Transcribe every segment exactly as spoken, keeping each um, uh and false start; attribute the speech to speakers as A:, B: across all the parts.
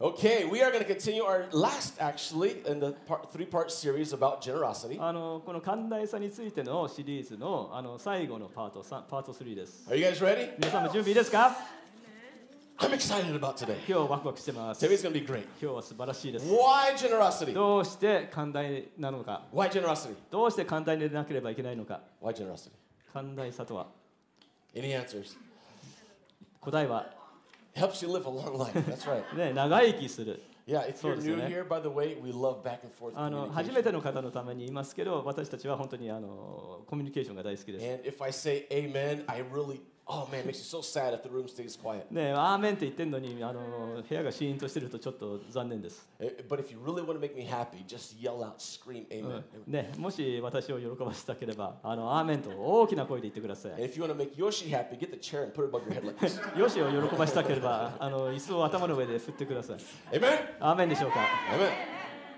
A: Okay, we are going to continue our last, actually, in the part, three-part series about generosity.
B: あのこの寛大さについてのシリーズのあの最後のパートさん、パートスリーです。
A: Are you guys ready?
B: 皆さんも準備いいですか？
A: I'm excited about today.
B: 今日ワクワクしてます。
A: Today's going to be great.
B: 今日は素晴らしいです。
A: Why generosity?
B: どうして寛大なのか？
A: Why generosity?
B: どうして寛大でなければいけないのか？
A: Why generosity?
B: 寛大さとは？
A: Any answers?
B: 答えは
A: Helps you live a long life. That's right.
B: ね、長生きする。
A: Yeah, if you're
B: そうですよね。
A: new here, by the way, we love back and forth
B: あの初
A: communication.
B: めての方のために言いますけど、私たちは本当にあのコミュニケーションが大好きです。
A: And if I say amen, I really, oh man, it makes me so sad if the room stays quiet.
B: ね、アーメンって言ってるのにあの部屋がシーンとしてるとちょっと残念です。
A: Eh, But if you really want to make me happy, just yell out, scream
B: う
A: amen.
B: んね、もし私を喜ばせたければ、あのアーメンと大きな声で言ってくださ
A: And
B: い。
A: if you want to make Yoshi happy, get the chair and put it above your head like this.
B: よしを喜ばせたければ、あの椅子を頭の上で振ってください。
A: Amen?
B: アーメンでしょうか？
A: Amen.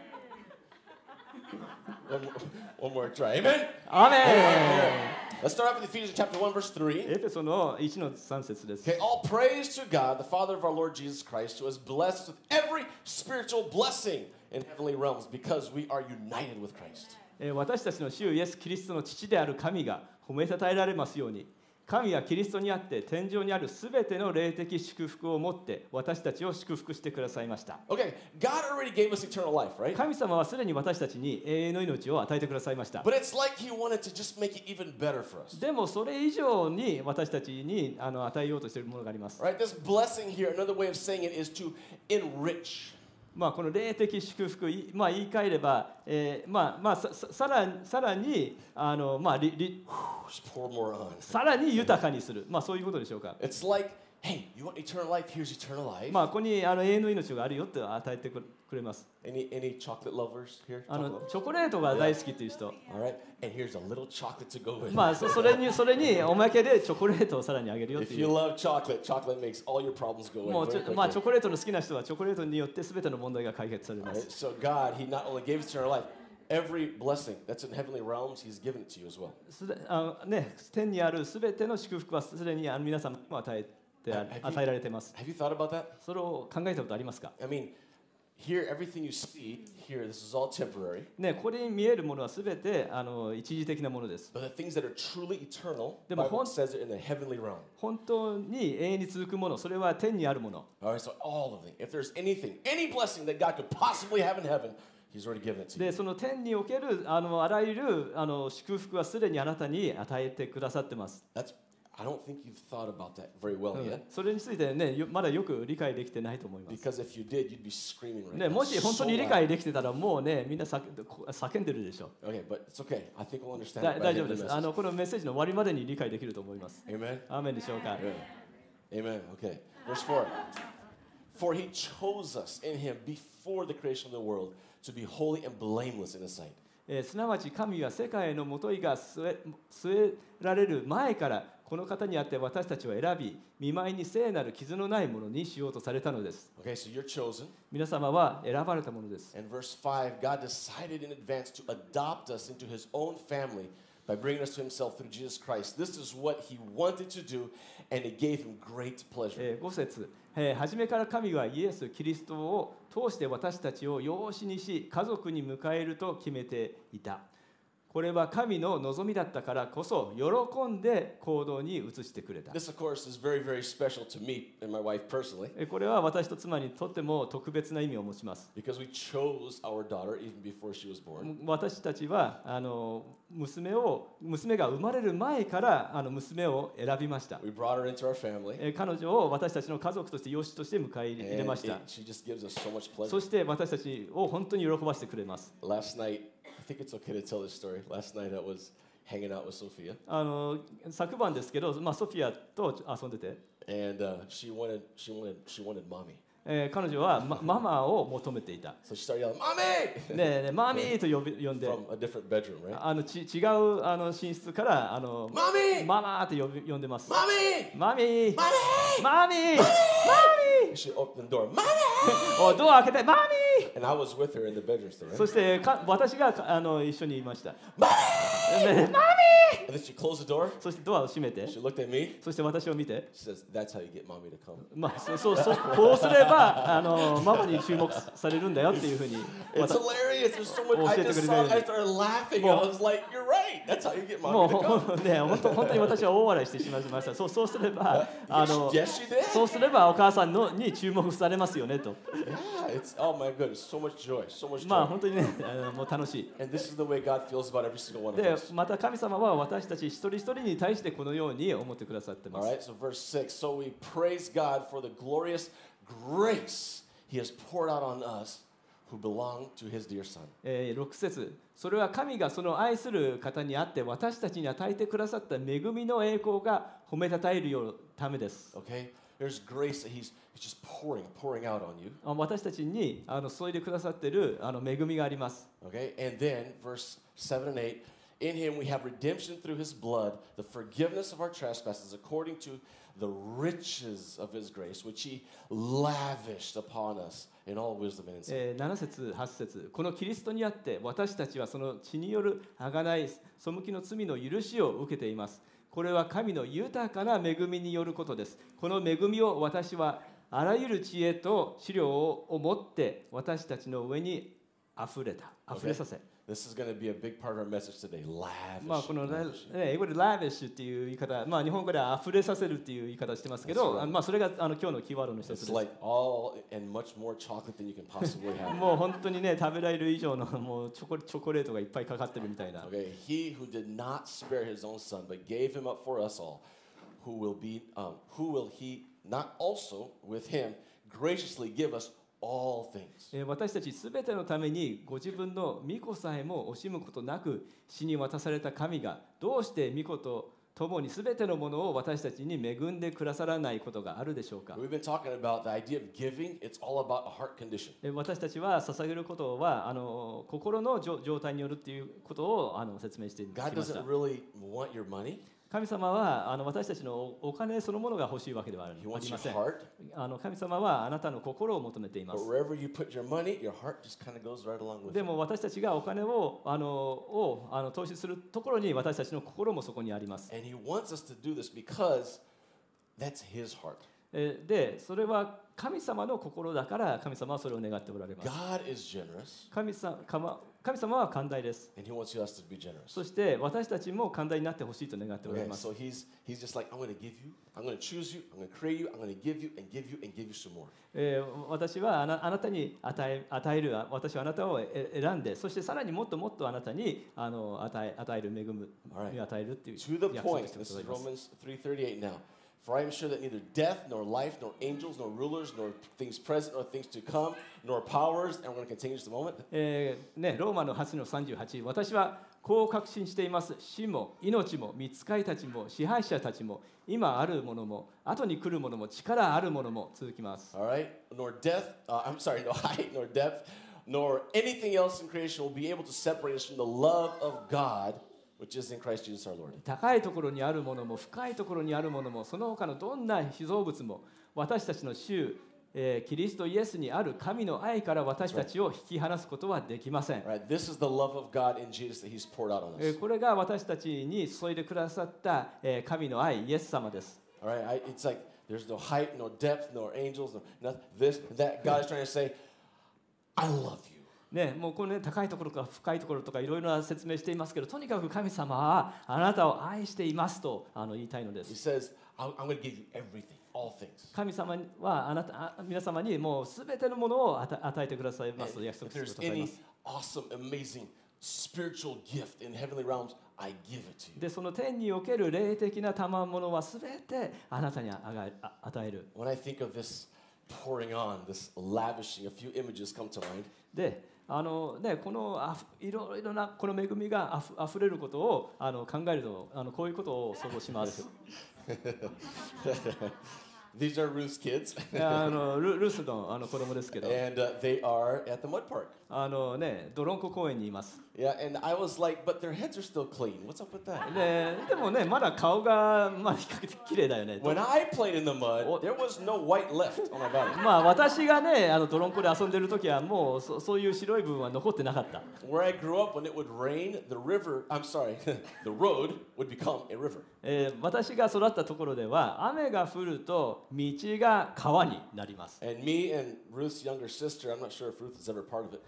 A: One more, one more try. Amen?
B: アーメ
A: Let's start off with Ephesians chapter one, verse
B: ン。
A: three.
B: エペソのいちのさん節です。
A: Okay, all praise to God, the Father of our Lord Jesus Christ, who has blessed us with every spiritual blessing in heavenly realms because we are united with Christ.
B: えー私たちの主イエス・キリストの父である神が褒めたたえられますように、神はキリストにあって天上にあるすべての霊的祝福を持って私たちを祝福してくださいました。
A: Okay, God already gave us eternal life, right?
B: 神様はすでに私たちに永遠の命を与えてくださいました。
A: But it's like He wanted to just make it even better for us.
B: でもそれ以上に私たちにあの与えようとしているものがあります。
A: Right? This blessing here, another way of saying it is to enrich.
B: まあこの霊的祝福、いまあ、言い換えれば、えーまあまあ、さ, さ, さ, らさらにあの、まあ、りり
A: Just pour more on.
B: さらに豊かにする、まあ、そういうことでしょうか。
A: It's like, hey, you want eternal life? Here's eternal life.
B: まあ、ここにあの永遠の命があるよって与えてくれます。
A: Any any chocolate lovers here?
B: あ
A: Chocolate
B: の
A: lovers?
B: チョコレートが大好きっていう人、
A: All right. And here's a little chocolate to go with.
B: まあ、そ, そ, れにそれにおまけでチョコレートをさらにあげるよっ
A: If
B: てい
A: you
B: う。
A: love chocolate, chocolate makes all your problems go
B: もう
A: away
B: ち
A: very
B: ょ、まあ、チ
A: quickly.
B: ョコレートの好きな人はチョコレートによって全ての問題が解決されま
A: Right?
B: す。
A: So God, He not only gave us eternal life, every blessing that's in heavenly realms, He's given it to you as well.
B: すであのね、天にあるすべての祝福はすでにあの皆さんも与えてあ
A: Have you-
B: 与えられています。
A: Have you thought about that?
B: それを考えたことありますか？
A: I mean, here, everything you see here, this is all temporary.
B: ね、ここに見えるものはすべてあの一時的なものです。
A: But the things that are truly eternal, the
B: でも、
A: Bible
B: ほん-
A: says it in the heavenly realm.
B: 本当に永遠に続くもの、それは天にあるもの。
A: All right, so all of it. If there's anything, any blessing that God could possibly have in heaven, He's already given it to you.
B: で、その天におけるあのあらゆるあの祝福はすでにあなたに与えてくださってます。
A: That's, I don't think you've thought about that very well
B: うん
A: yet.
B: それについてね、よまだよく理解できてないと思います。
A: Because if you did, you'd be screaming right
B: ね、
A: now.
B: もし本当
A: So
B: に理
A: loud.
B: 解できてたらもうね、みんな叫叫んでるでしょう。
A: Okay, but it's okay. I think we'll understand
B: だ
A: it by
B: 大
A: the
B: 丈
A: end
B: 夫
A: of
B: で
A: the
B: す。あ
A: message.
B: のこのメッセージの終わりまでに理解できると思います。
A: Amen?
B: アーメンでしょうか。
A: Amen. Amen. Okay. Verse four. For He chose us in Him before the creation of the world to be holy and blameless in His sight.
B: えーすなわち神は世界のもといが据え据えられる前からこの方にあって私たちを選び見舞いに聖なる傷のないものにしようとされたのです。
A: Okay, so you're chosen.
B: 皆様は選ばれたものです。
A: And verse five, God decided in advance to adopt us into His own family by bringing us to Himself through Jesus Christ. This is what He wanted to do, and it gave Him great pleasure.
B: えーご節、えー初めから神はイエス・キリストを通して私たちを養子にし家族に迎えると決めていた。これは神の望みだったからこそ喜んで行動に移してくれた。
A: This, of course, is very, very special to me and my wife personally
B: えーこれは私と妻にとっても特別な意味を持ちます。
A: because we chose our daughter even before she was born.
B: 私たちはあの娘を娘が生まれる前からあの娘を選びました。
A: We brought her into our family,
B: えー彼女を私たちの家族として養子として迎え入れ
A: and
B: ました
A: it,。she just gives us so much pleasure.
B: そして私たちを本当に喜ばせてくれます。
A: Last night, I think it's okay to tell this story. Last night I was hanging out with Sophia,
B: あの昨晩ですけど、まあ、ソフィアと遊んでて、
A: and uh, she wanted, she wanted, she wanted mommy.
B: えー彼女は、ま、ママを求めていた。
A: So she started yelling, "Mommy!"
B: ねえねえマミーと呼び呼んで、
A: from a different bedroom, right?
B: あのち違うあの寝室からあの
A: Mommy!
B: ママーって呼び呼んでます。
A: Mommy!
B: マミー、
A: Mommy!
B: マミー、マミ
A: She opened the door, "Mommy!"
B: ー、おドア開けて、マミー。
A: And I was with her in the bedroom still,
B: そ
A: right?
B: してか私がかあの一緒にいました。
A: Mommy! Mommy! And then she closed the door.
B: そしてドアを閉めて、
A: She looked at me.
B: そして私を見て、
A: She says, "That's how you get mommy to come."
B: まあ、そうそうそうこうすればあのママに注目されるんだよっていうふうに
A: It's hilarious. There's so much. I just saw it. I started laughing. I was like, "You're right. That's how you get
B: もう
A: mommy to come."
B: ね本当本当に私は大笑いしてしまいました。そうそうすればあの
A: Yes, she did.
B: そうすればお母さんのに注目されますよねと。
A: Yeah, it's oh my goodness, so much joy, so much
B: まあ
A: joy.
B: 本当にねあのもう楽しい。
A: And this is the way God feels about every single one of
B: で
A: us.
B: また神様は私たち一人一人に対してこのように思ってくださってま
A: All
B: す。
A: right, so verse six. So we praise God for the glorious grace He has poured out on us who belong to His dear Son.
B: えーろく節、それは神がその愛する方にあって私たちに与えてくださった恵みの栄光が褒めたたえるようためです。
A: Okay, there's grace that He's He's just pouring, pouring out on you.
B: あ私たちにあの注いでくださっているあの恵みがあります。
A: Okay, and then verse seven and eight. In Him we have redemption through His blood, the forgiveness of our trespasses, according to the riches of His grace, which He lavished upon us in all wisdom and insight.
B: えーなな節、はち節、このキリストにあって私たちはその血による贖い、背きの罪の許しを受けています。これは神の豊かな恵みによることです。この恵みを私はあらゆる知恵と資料を持って私たちの上にあふれた、あふれさせ。
A: This is going to be a big part of our message today. Lavish.
B: まあこの、ね
A: lavish.
B: 英語で lavish っていう言い方、まあ日本語ではあふれさせるっていう言い方してますけど、
A: That's right.
B: あのまあそれがあの今日のキーワードの一つで
A: It's
B: す。
A: like all and much more chocolate than you can possibly have.
B: もう本当にね食べられる以上のもうチョコチョコレートがいっぱいかかってるみたいな。
A: Okay, He who did not spare His own Son, but gave Him up for us all, who will be, um, who will He not also with Him graciously give us all things?
B: えー私たちすべてのためにご自分の御子さえも惜しむことなく死に渡された神がどうして御子と共にすべてのものを私たちに恵んでくださらないことがあるでしょうか。
A: We've been talking about the idea of giving. It's all about a heart condition.
B: えー私たちは捧げることはあの心の状状態によるっていうことをあの説明してきま
A: God
B: した
A: doesn't。really want your money.
B: 神様はあの私たちのおお金そのものが欲しいわけではあり
A: He
B: ま
A: wants your
B: せん。
A: heart.
B: あの神様はあなたの心を求めていま
A: But
B: す。
A: wherever you put your money, your heart just kind of goes right along with
B: で
A: it.
B: も私たちがお金をあのをあの投資するところに私たちの心もそこにあります。
A: And He wants us to do this because that's His heart.
B: えーで、それは神様の心だから神様はそれを願っておられます。
A: God is generous,
B: 神様神神様は寛大です。
A: and He wants us to be generous.
B: そして私たちも寛大になってほしいと願っておられ
A: Okay,
B: ます。
A: so He's He's just like, I'm going to give you, I'm going to choose you, I'm going to create you, I'm going to give you and give you and give you some more.
B: えー私はあなあなたに与え与える私はあなたをえ選んで、そしてさらにもっともっとあなたにあの与え与える恵む
A: Alright.
B: に与えるっていう
A: To the
B: 約束
A: point,
B: してく
A: this
B: だ
A: is
B: さいます。
A: Romans three thirty-eight now. For I am sure that neither death, nor life, nor angels, nor rulers, nor things present, nor things to come, nor powers, and we're going to continue just a moment.
B: えーね、ローマのはちのさんじゅうはち、私はこう確信しています。死も命も御使いたちも支配者たちも今あるものも後に来るものも力あるものも続きます。
A: All right? Nor death, uh, I'm sorry, no height, nor depth, nor anything else in creation will be able to separate us from the love of God, which is in Christ Jesus our Lord.
B: 高いところにあるものも深いところにあるものもその他のどんな被造物も私たちの主、えーキリストイエスにある神の愛から私たちを引き離すことはできません。
A: All right? This is the love of God in Jesus that He's poured out on
B: え
A: us.
B: ーこれが私たちに注いでくださった、えー神の愛、イエス様です。
A: All right? I, it's like there's no height, no depth, nor angels, no nothing. This, that. God is trying to say, I love you.
B: ね、もうこの、ね、高いところとか深いところとかいろいろな説明していますけど、とにかく神様はあなたを愛していますとあの言いたいので
A: He
B: す。
A: says, I'm, I'm going to give you everything, all things.
B: 神様はあなたあ皆様にもうすべてのものを与与えてくださいま
A: And
B: すと約
A: if
B: 束する
A: there's
B: ことがありま
A: any
B: す。
A: awesome, amazing spiritual gift in heavenly realms, I give it to you.
B: で、その天における霊的な賜物はすべてあなたにあがあ与える。
A: When I think of this pouring on, this lavishing, a few images come to mind.
B: で、あのね、このあふいろいろなこの恵みがあふあふれることをあの考えるとあのこういうことを想像します。
A: These are Ruth's kids.
B: あの ル, ルースのあの子供ですけど、
A: And uh, they are at the mud park.
B: あのね、ドロンコ公園にいます。
A: Yeah, and I was like, but their heads are still clean. What's up with that?
B: で, でもね、まだ顔が、まあ、比較的綺麗だよね。
A: When I played in the mud, there was no white left on my body.
B: まあ私がね、あのドロンコで遊んでる時はもう そ, そういう白い部分は残ってなかった。
A: Where I grew up, when it would rain, the river, I'm sorry, the road would become a river.
B: えー、私が育ったところでは雨が降ると道が川になります。
A: And me and Ruth's younger sister, I'm not sure if Ruth is ever part of it.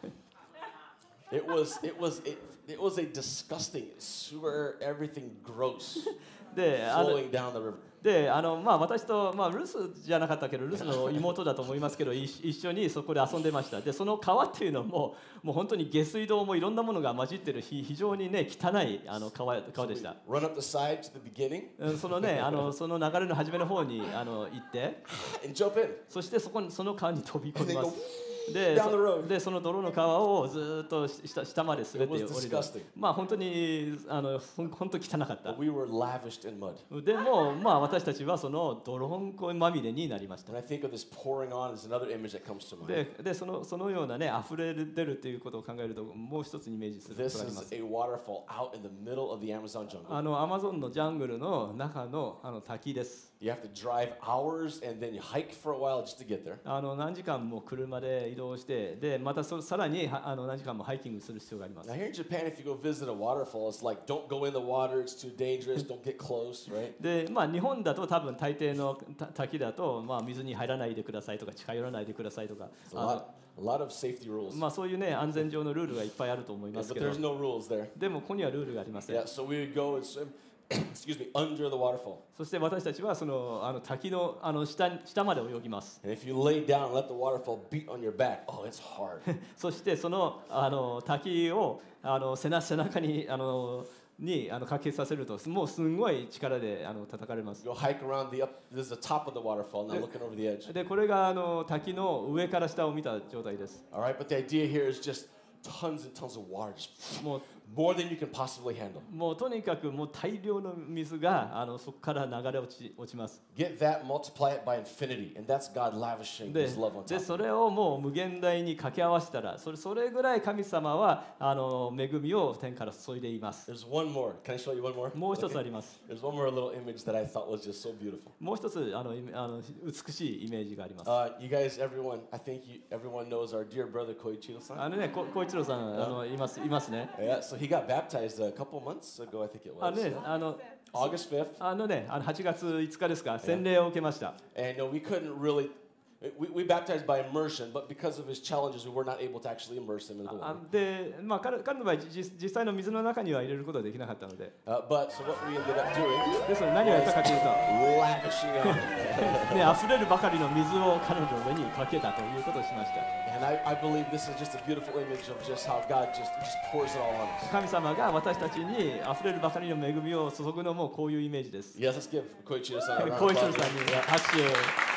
A: It was, it was, it, it was a disgusting sewer, everything gross,
B: で、あの
A: flowing down the river.
B: であのまあ、私と、まあ、ルースじゃなかったけどルースの妹だと思いますけど一一緒にそこで遊んでました。でその川っていうのももう本当に下水道もいろんなものが混じってる非非常にね汚いあの 川, 川でした。
A: Run up the side to the beginning
B: うんそのねあのその流れの初めの方にあの行って
A: and jump in.
B: そしてそこにその川に飛び込みま
A: And then
B: す。
A: go
B: で
A: down the road.
B: でその泥の川をずっと下下まで滑って
A: It
B: 降
A: was
B: りる
A: disgusting.
B: まあ本当にあのほん本当汚かった。
A: But we were lavished in mud.
B: でもまあ私たちはその泥んこまみれになりました。
A: When I think of this pouring on, is another image that comes to mind.
B: ででそのそのようなね溢れ出るということを考えるともう一つイメージすること
A: This
B: がありま
A: is
B: す。
A: a waterfall out in the middle of the Amazon jungle.
B: あのアマゾンのジャングルの中のあの滝です。
A: You have to drive hours and then you hike for a while just to get there.
B: あの何時間も車で移動してでまたそさらにはあの何時間もハイキングする必要があります。
A: Now here in Japan, if you go visit a waterfall, it's like don't go in the water; it's too dangerous. Don't get close, right?
B: でまあ日本だと多分大抵のた滝だとまあ水に入らないでくださいとか近寄らないでくださいとか
A: There's a
B: あ
A: lot,
B: の
A: a lot of safety rules.
B: まあそういうね安全上のルールがいっぱいあると思い
A: Yeah,
B: ます
A: but
B: けど
A: there's no rules there.
B: でもここにはルールがありません。
A: Yeah, so we would go and swim. Excuse me, under the waterfall.
B: そして私たちはそのあの滝のあの 下, 下まで泳ぎます。
A: And if you lay down and let the waterfall beat on your back, oh, it's hard.
B: そしてそのあの滝をあの背中背中にあのにあのかけさせるともうすごい力であの叩かれます。
A: You go hike around the up. This is the top of the waterfall. Now looking over the edge.
B: でこれがあの滝の上から下を見た状態です。
A: All right, but the idea here is just tons and tons of water, just
B: もう
A: more than you can possibly handle.
B: もうとにかくもう大量の水があのそこから流れ落ち落ちます。
A: Get that, multiply it by infinity, and that's God lavishing
B: で
A: His love on
B: で
A: top.
B: それをもう無限大に掛け合わせたらそれそれぐらい神様はあの恵みを天から注いでいます。
A: There's one more. Can I show you one more?
B: もう一つ
A: Okay.
B: あります。
A: There's one more little image that I thought was just so beautiful.
B: もう一つあのイメあの美しいイメージがあります。
A: Uh, you guys, everyone, I think you, everyone knows our dear brother Koichiro-san.
B: あのね、こ小一郎さんあのいますいますね。
A: Yeah, so he got baptized a couple months ago, I think it
B: あ
A: was.
B: のね、あの
A: August fifth.
B: あのね、あのはちがついつかですか、洗礼を受けました。
A: And uh, we couldn't really, we, we baptized by immersion, but because of his challenges, we were not able to actually immerse him in the
B: あ
A: water.
B: で、まあ彼彼の場合実実際の水の中には入れることはできなかったので、
A: Uh, but so what we ended up doing,
B: ですので何をやったかというと、
A: lavishing on him.
B: ね、溢れるばかりの水を彼女の上にかけたということをしました。
A: And I, I believe this is just a beautiful image of just how God just, just pours it all on us.
B: 神様が私たちに溢れるばかりの恵みを注ぐのもこういうイメージです。
A: Yes, let's give Koichiro-san a round
B: 小
A: of
B: 一郎
A: applause.
B: さんに拍手。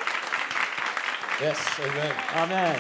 A: Yes, amen.
B: アーメン。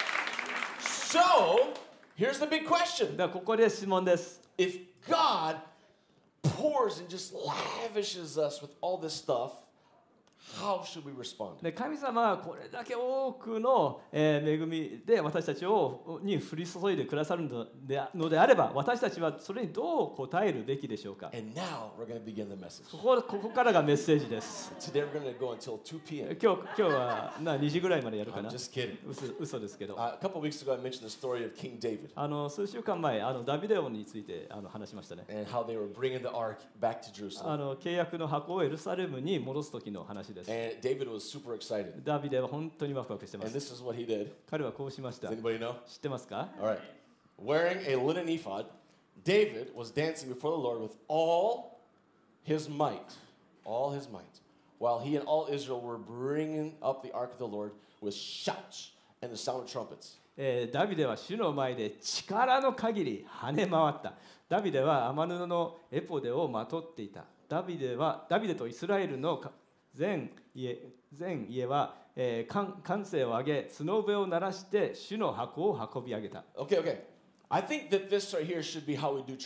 A: So, here's the big question.
B: ではここで質問です。
A: If God pours and just lavishes us with all this stuff, how should we respond?
B: で神様はこれだけ多くの、えー恵みで私たちをに降り注いでくださるのでのであれば私たちはそれにどう答えるべきでしょうか。
A: And now we're going to begin the message.
B: ここここからがメッセージです。
A: Today we're going to go until two p.m.
B: 今日今日はなにじぐらいまでやるか
A: I'm
B: な。
A: just kidding.
B: 嘘嘘ですけど。
A: Uh, a couple weeks ago, I mentioned the story of King David
B: あの数週間前あのダビデ王についてあの話しましたね。
A: and how they were bringing the ark back to
B: あ
A: Jerusalem.
B: の契約の箱をエルサレムに戻す時の話です。
A: And David was super excited.
B: ダビデは本当にワクワクしてま
A: And
B: す。
A: this is what he did.
B: 彼はこうしました。
A: Does
B: 知
A: anybody know?
B: ってますか？
A: All right. Wearing a linen ephod, David was dancing before the Lord with all his might, all his might, while he and all Israel were bringing up the ark of the Lord with shouts and the sound of trumpets.
B: えーダビデは主の前で力の限り跳ね回った。ダビデは天布のエポデをまとっていた。ダビデはダビデとイスラエルの全家全家は、えー、歓歓声を上げ角笛を鳴らして主の箱を運び上げた。
A: Okay, okay. I think that this right here should be how we do church.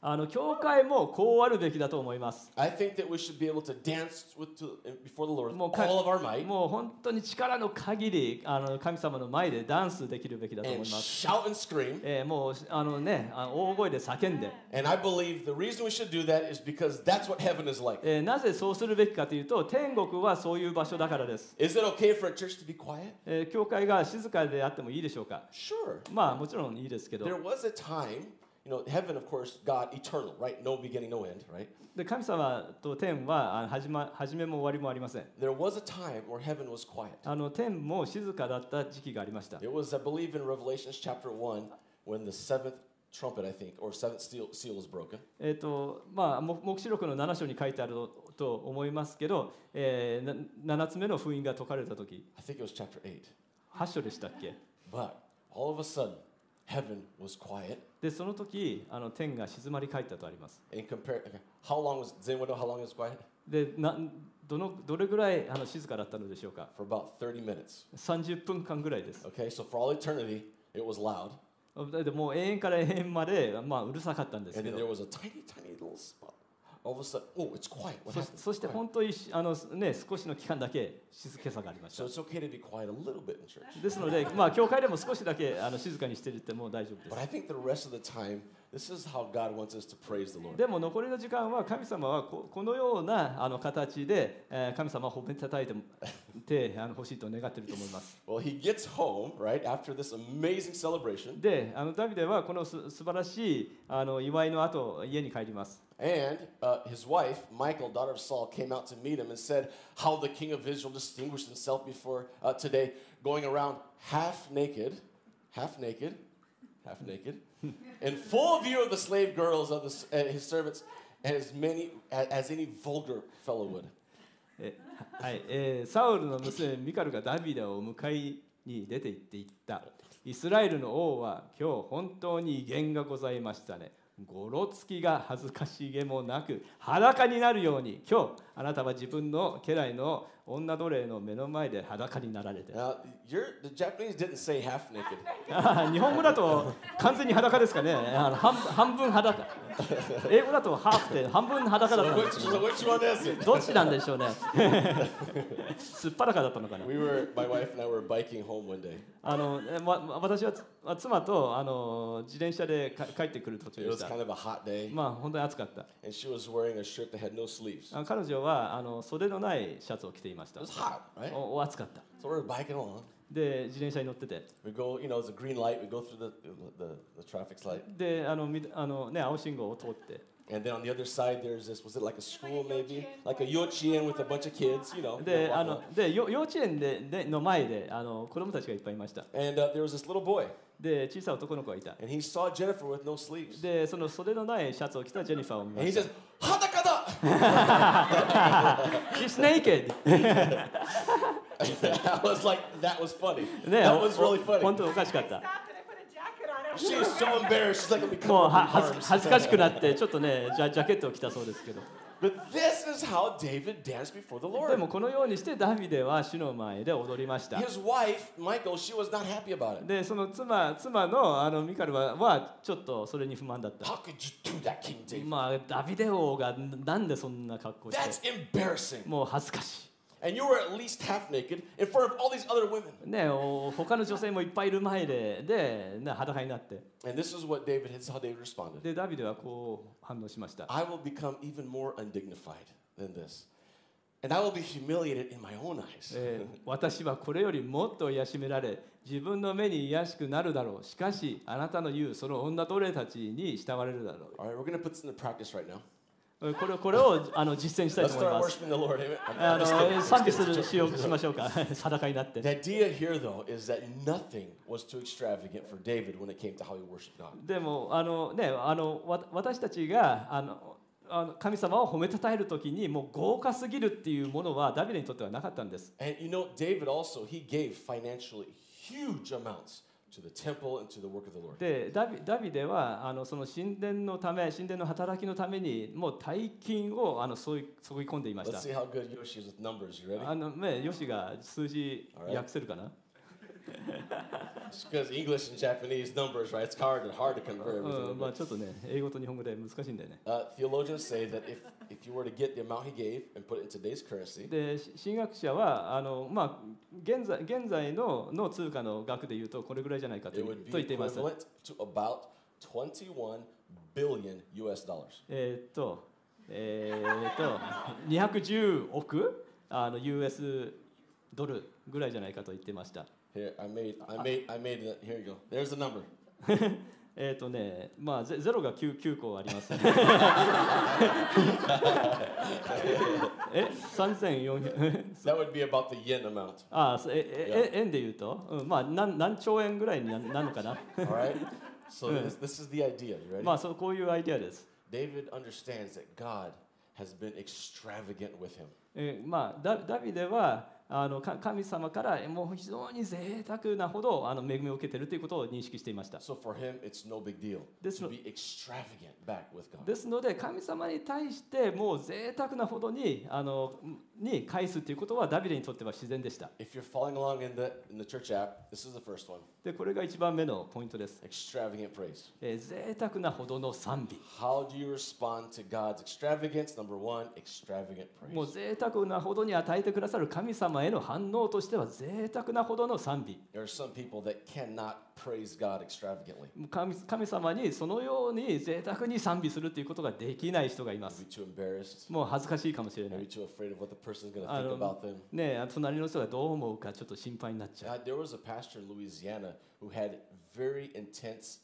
B: あの教会もこうあるべきだと思います。
A: I think that we should be able to dance with to, before the Lord
B: もう
A: with
B: か
A: all of our might
B: もう本当に力の限りあの神様の前でダンスできるべきだと思
A: and
B: います。
A: shout and scream.
B: えーもうあのね、あの大声で叫んで、
A: And I believe the reason we should do that is because that's what heaven is like.
B: えーなぜそうするべきかというと、天国はそういう場所だからです。
A: Is it okay for a church to be quiet?
B: えー教会が静かであってもいいでしょうか。
A: Sure.
B: まあもちろんいいですけど、
A: There was a time, you know, heaven, of course, God, eternal, right? No beginning, no end, right?
B: で神様と天はあの始ま始めも終わりもありません。
A: There was a time where heaven was quiet.
B: あの天も静かだった時期がありました。
A: It was, I believe, in Revelations chapter one when the seventh trumpet, I think, or seventh seal, seal was broken.
B: えーとまあ、も黙示録のなな章に書いてあると思いますけど、えー、ななつ目の封印が解かれたとき、
A: I think it was chapter eight.
B: はち章でしたっけ。
A: But all of a sudden, heaven was quiet.
B: でその時あの天が静まり返ったとあります。
A: And compare, okay, how long was, does anyone know how long it was quiet?
B: でなどのどれぐらいあの静かだったのでしょうか。
A: For about thirty minutes.
B: さんじゅっぷんかんぐらいです。
A: Okay, so for all eternity, it was loud.
B: でもう永遠から永遠まで、まあ、うるさかったんです
A: And
B: け
A: then
B: ど、
A: there was a tiny, tiny little spot. All of a sudden, oh, it's quiet. What
B: そ
A: happened?
B: そして
A: Quiet.
B: 本当にあの、ね、少しの期間だけ静けさがありまし
A: So
B: た。
A: it's okay to be quiet a little bit in church.
B: ですので、まあ、教会でも少しだけあの静かにしていっても大丈夫で
A: But I
B: す。
A: think the rest of the time, this is how God wants us to praise the Lord.
B: でも残りの時間は神様はここのようなあの形で、えー神様を褒めたたいててあの欲しいと願っていると思います。
A: Well, he gets home, right, after this amazing celebration.
B: で、あのダビデはこのす素晴らしいあの祝いの後、家に帰ります。
A: And uh, his wife, Michal, daughter of Saul, came out to meet him and said how the king of Israel distinguished himself before uh, today, going around half naked, half naked, half naked, in full view of the slave girls of the, uh, his servants, and as many as, as any vulgar fellow would.
B: えはいえーサウルの娘ミカルがダビデを迎えに出て行っていった。イスラエルの王は今日本当に威厳がございましたね。ごろつきが恥ずかしげもなく裸になるように今日あなたは自分の家来の女奴隷の目の前で裸になられて。
A: Now, you're, the Japanese didn't say half naked.
B: あ日本語だと完全に裸ですかね。あの半半分裸。英語だとハーフで半分裸だったん
A: Which,
B: ですけど
A: so which one is it?
B: どっちなんでしょうね。すっぱらかだったのかな。
A: We were, my wife and I were biking home one day.
B: あのえま、私はつ妻とあの自転車でか帰ってくる途中
A: It
B: で
A: was
B: した。
A: kind of a hot day,
B: まあ本当に暑かった。
A: and she was wearing a shirt that had no sleeves.
B: あ彼女はあの袖のないシャツを着ていました
A: It was。hot, right?
B: おお暑かった。
A: So we were biking along.
B: で自転車に乗ってて、
A: We go, you know, it's a green light. We go through the the, the traffic light,
B: であのみあのね青信号を通って、
A: and then on the other side there's this. Was it like a school maybe? Like a yochien with a bunch of kids, you know?
B: で
A: you know,
B: あ
A: walking
B: の
A: along.
B: でよ幼稚園ででの前であの子供たちがいっぱいいました。
A: And uh, there was this little boy,
B: で小さい男の子がいた。
A: and he saw Jennifer with no sleeves,
B: でその袖のないシャツを着たジェニファーを見
A: and
B: ま
A: he
B: した。
A: says, "Hadakada!"
B: She's naked 。
A: I was like, that was funny.
B: ね、
A: That was really
B: おお本
A: funny.
B: 当おかしかった。
C: Stopped and I put a jacket on him.
A: She was so embarrassed. She's like, "Let me
B: もう
A: come
B: は
A: up
B: 恥
A: with
B: ず
A: arms."
B: 恥ずかしくなってちょっとねジャジャケットを着たそうですけど。
A: But this is how David danced before the
B: で
A: Lord.
B: もこのようにしてダビデは主の前で踊りました。
A: His wife, Michal, she was not happy about it.
B: でその妻妻のあのミカルははちょっとそれに不満だった。
A: How could you do that, King David?
B: まあダビデ王がなんでそんな格好し
A: That's
B: て
A: embarrassing.
B: もう恥ずかし
A: And you were at least half naked in front of all these other women.
B: い。ねお他の女性もいっぱいいる前でで、ね、裸になって
A: And this is what David, this is how David responded.
B: でダビデはこう反応しました。
A: I will become even more undignified than this. And I will be humiliated in my own eyes.
B: えー私はこれよりもっと癒しめられ自分の目に癒しくなるだろう。しかしあなたの言うその女奴隷たちに慕われるだろ
A: All right, we're going to put this into practice right now.
B: う。これこれをあの実践したい
A: Let's
B: と思い
A: start
B: ます。
A: worshiping the Lord. Amen. I'm-
B: あ
A: I'm
B: の
A: just kidding.
B: 賛美するしようしましょうか。裸になって。
A: The idea here, though, is that nothing was too extravagant for David when it came to how he worshiped God.
B: でもあのねあのわ私たちがあのあの神様を褒めたたえるときにもう豪華すぎるっていうものはダビデにとってはなかったんです。
A: And you know, David also, he gave financially huge amounts to the temple and to the work of the Lord.
B: でダビダビデはあのその神殿のため神殿の働きのためにもう大金をあの注い注ぎ込んでいまし
A: Let's
B: た。
A: see how good Yoshi is with numbers. You ready?
B: あのねヨシが数字
A: Alright.
B: 訳せるかな。
A: Because English and Japanese numbers, right? It's hard and hard to convert
B: う
A: everything.
B: んまあ、ちょっとね、英語と日本語で難しいんだよね。
A: Uh, theologians say that if, if you were to get the amount he gave and put it in today's currency,
B: で、し神学者はあの、まあ、現在現在のの通貨の額でいうとこれぐらいじゃないかと
A: it
B: と
A: would
B: 言
A: be
B: っています。
A: equivalent to about twenty-one billion U S dollars.
B: えーっと、えーっと、にひゃくじゅうおくあの ユーエス ドルぐらいじゃないかと言ってました。
A: Here, I made, I made, I made it. Here you go. There's the number.
B: えーっとね、まあゼゼロが 9, 9個あります。え、さんぜんよんひゃく
A: That would be about the yen amount.
B: ああ、えええ円で言うと、うん、まあ何何兆円ぐらいにななるのかな。
A: All right. So this, this is the idea. You ready?
B: まあそうこういうアイデアです。
A: David understands that God has been extravagant with him.
B: えーまあダダビデはあのか神様からもう非常に贅沢なほどあの恵みを受けているということを認識していました。
A: So for him, it's no big deal
B: This
A: to
B: no-
A: be extravagant back with God.
B: ですので神様に対してもう贅沢なほどにあのに返すということはダビデにとっては自然でした。
A: If you're following along in the in the church app, this is the first one:
B: でこれが一番目のポイントです。
A: extravagant praise.
B: えー贅沢なほどの賛美。
A: How do you respond to God's extravagance? Number one, extravagant
B: もう
A: praise.
B: 贅沢なほどに与えてくださる神様への反応としては贅沢なほどの賛美。
A: There are some people that cannot praise God extravagantly.
B: 神神様にそのように贅沢に賛美するということができない人がいま
A: Maybe
B: す。
A: too embarrassed.
B: もう恥ずかしいかもしれな
A: Maybe
B: い。
A: too afraid of what the person's going to
B: あ
A: think
B: の
A: about them.
B: ねえ、隣の人がどう思うかちょっと心配になっちゃう。
A: Uh, there was a pastor in Louisiana who had very intense.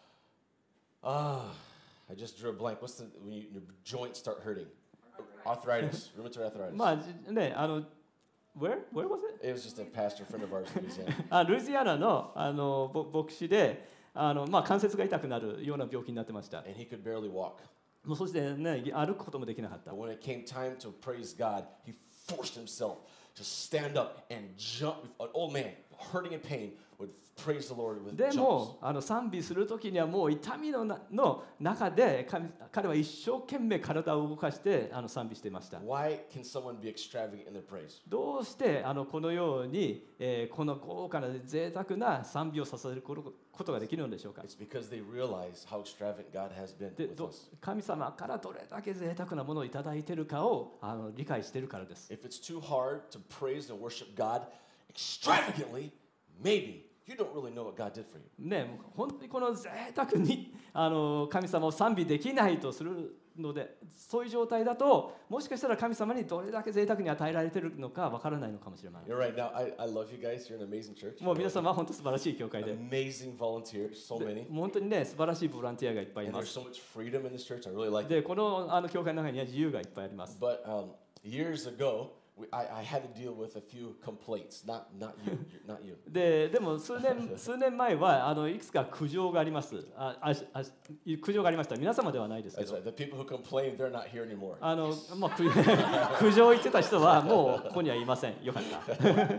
A: Ah, I just drew a blank. What's the when you, your joints start hurting? Arthritis, rheumatoid arthritis.
B: まあじねあの Where? Where was it?
A: It was just a pastor friend of ours in Louisiana.
B: あルイジアナのあのぼ牧師であの、まあ、関節が痛くなるような病気になってました。
A: And he could barely walk.
B: もうそしてね歩くこともできなかった
A: But。when it came time to praise God, he forced himself to stand up and jump. An old man, hurting in pain, would praise the Lord with
B: で
A: jumps.
B: もあの賛美するときにはもう痛みのなの中で神彼は一生懸命体を動かしてあの賛美していました。
A: Why can someone be extravagant in their praise?
B: どうしてあのこのように、えーこの豪華な贅沢な賛美をさせることができるのでしょうか。
A: It's because they realize how extravagant God has been
B: で
A: with
B: ど
A: us.
B: 神様からどれだけ贅沢なものをいただいているかをあの理解しているからです。
A: If it's too hard to praise and worship God extravagantly, maybe you don't really know what God did for you.
B: ね、もう本当にこの贅沢にあの神様を賛美できないとするので、そういう状態だともしかしたら神様にどれだけ贅沢に与えられているのかわからないのかもしれない。
A: You're right. Now, I, I love you guys. You're an amazing church.
B: もう皆様は本当素晴らしい教会で、
A: Amazing volunteers, so
B: で
A: many.
B: もう本当にね素晴らしいボランティアがいっぱいい
A: And
B: ま
A: there's
B: す。
A: so much freedom in this church. I really like it.
B: でこのあの教会の中には自由がいっぱいあります。
A: But um, years ago, we, I, I had to deal with a few complaints. Not, not you. You're- Not you.
B: ででも数年数年前はあのいくつか苦情があります。あああ苦情がありました。皆様ではないですけ
A: That's
B: ど。
A: right. The people who complain, they're not here anymore.
B: あのまあ、苦苦情を言ってた人はもうここにはいません。よかった。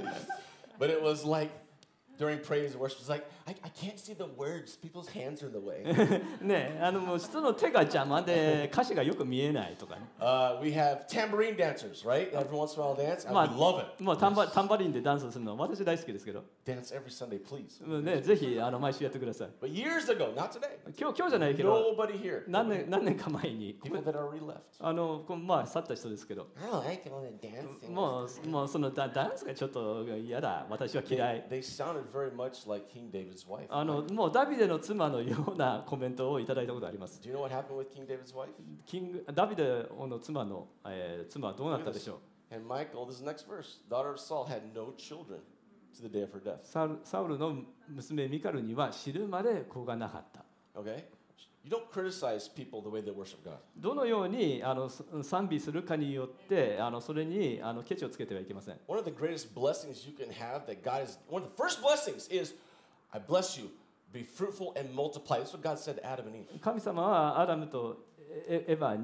A: But it was like during praise and worship, it's like, I, I can't see the words. People's hands are in the way.
B: ね、あのもう人の手が邪魔で歌詞がよく見えないとかね。
A: Uh, we have tambourine dancers, right? Every once in a while dance. And
B: Ma-
A: we love it.
B: もうタンバタンバリンでダンスするのは私大好きですけど、
A: Dance every Sunday, please.
B: もうね、ぜひあの毎週やってください。
A: But years ago, not today.
B: 今日今日じゃないけど、
A: Nobody here.
B: 何年何年か前に
A: People that already left.
B: あのこうまあ去った人ですけど、
A: I don't like all that dancing.
B: もうもうそのダダンスがちょっと嫌だ。私は
A: They,
B: 嫌い。
A: they sounded very much like King David's wife.
B: あのもうダビデの妻のようなコメントをいただいたことあります。
A: Do you know what happened with King David's wife?
B: キングダビデの妻の、えー妻はどうなったでしょう。
A: And Michael, this is the next verse. Daughter of Saul had no children to the day of her death.
B: サウルサウルの娘ミカルには死ぬまで子がなかった。
A: Okay? You don't criticize people the way they worship God.
B: どのようにあのす賛美するかによってあのそれにあのケチをつけてはいけません。
A: One of the greatest blessings you can have that God is, one of the first blessings is, I bless you, be fruitful and multiply. That's what God said to Adam and Eve.
B: 神様はアダムとエエヴァに、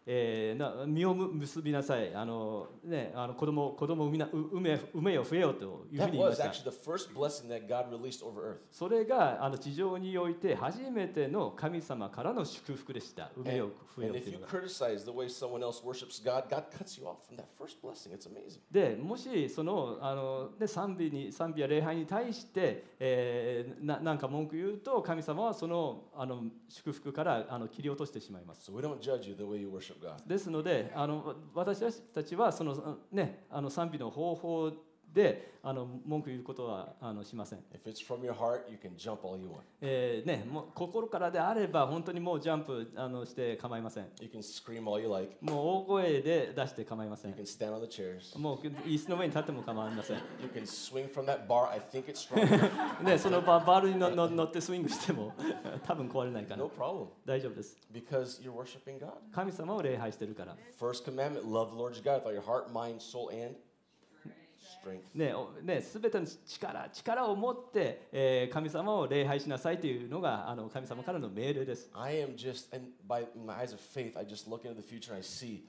B: えー、な実を結びなさい、あの、ね、あの子供子供を産みな産め産めよ増えよというふう
A: That
B: に言いま
A: was
B: した。
A: actually the first blessing that God released over earth.
B: それがあの地上において初めての神様からの祝福でした。産め
A: And,
B: よ増えよ
A: and
B: と
A: if
B: いう
A: you
B: のが。
A: criticize the way someone else worships God, God cuts you off from that first blessing. It's amazing.
B: でもしそのあの、ね、賛美に賛美や礼拝に対して、えー、な, なんか文句言うと神様はそのあの祝福からあの切り落としてしまいます。
A: So we don't judge you the way you worship God.
B: ですのであの私たちはその、ね、あの賛美の方法であの文句言うことはあのしません。
A: If it's from your heart, you can jump all you want.
B: えーね、もう心からであれば本当にもうジャンプあのして構いません。
A: You can scream all you like.
B: もう大声で出して構いませ
A: You
B: ん。
A: can stand on the chairs.
B: もう椅子の上に立っても構いません。
A: You can swing from that bar. I think it's strong.
B: でそのババールにのの乗ってスイングしても多分壊れないかな。
A: No problem.
B: 大丈夫です。
A: Because you're worshiping God.
B: 神様を礼拝してるから。
A: First commandment, love the Lord your God with all your heart, mind, soul, and strength.
B: ねね、すべての力力を持って、えー、神様を礼拝しなさいというのがあの神様からの命令です。
A: I am just, and by my eyes of faith, I just look into the future and I see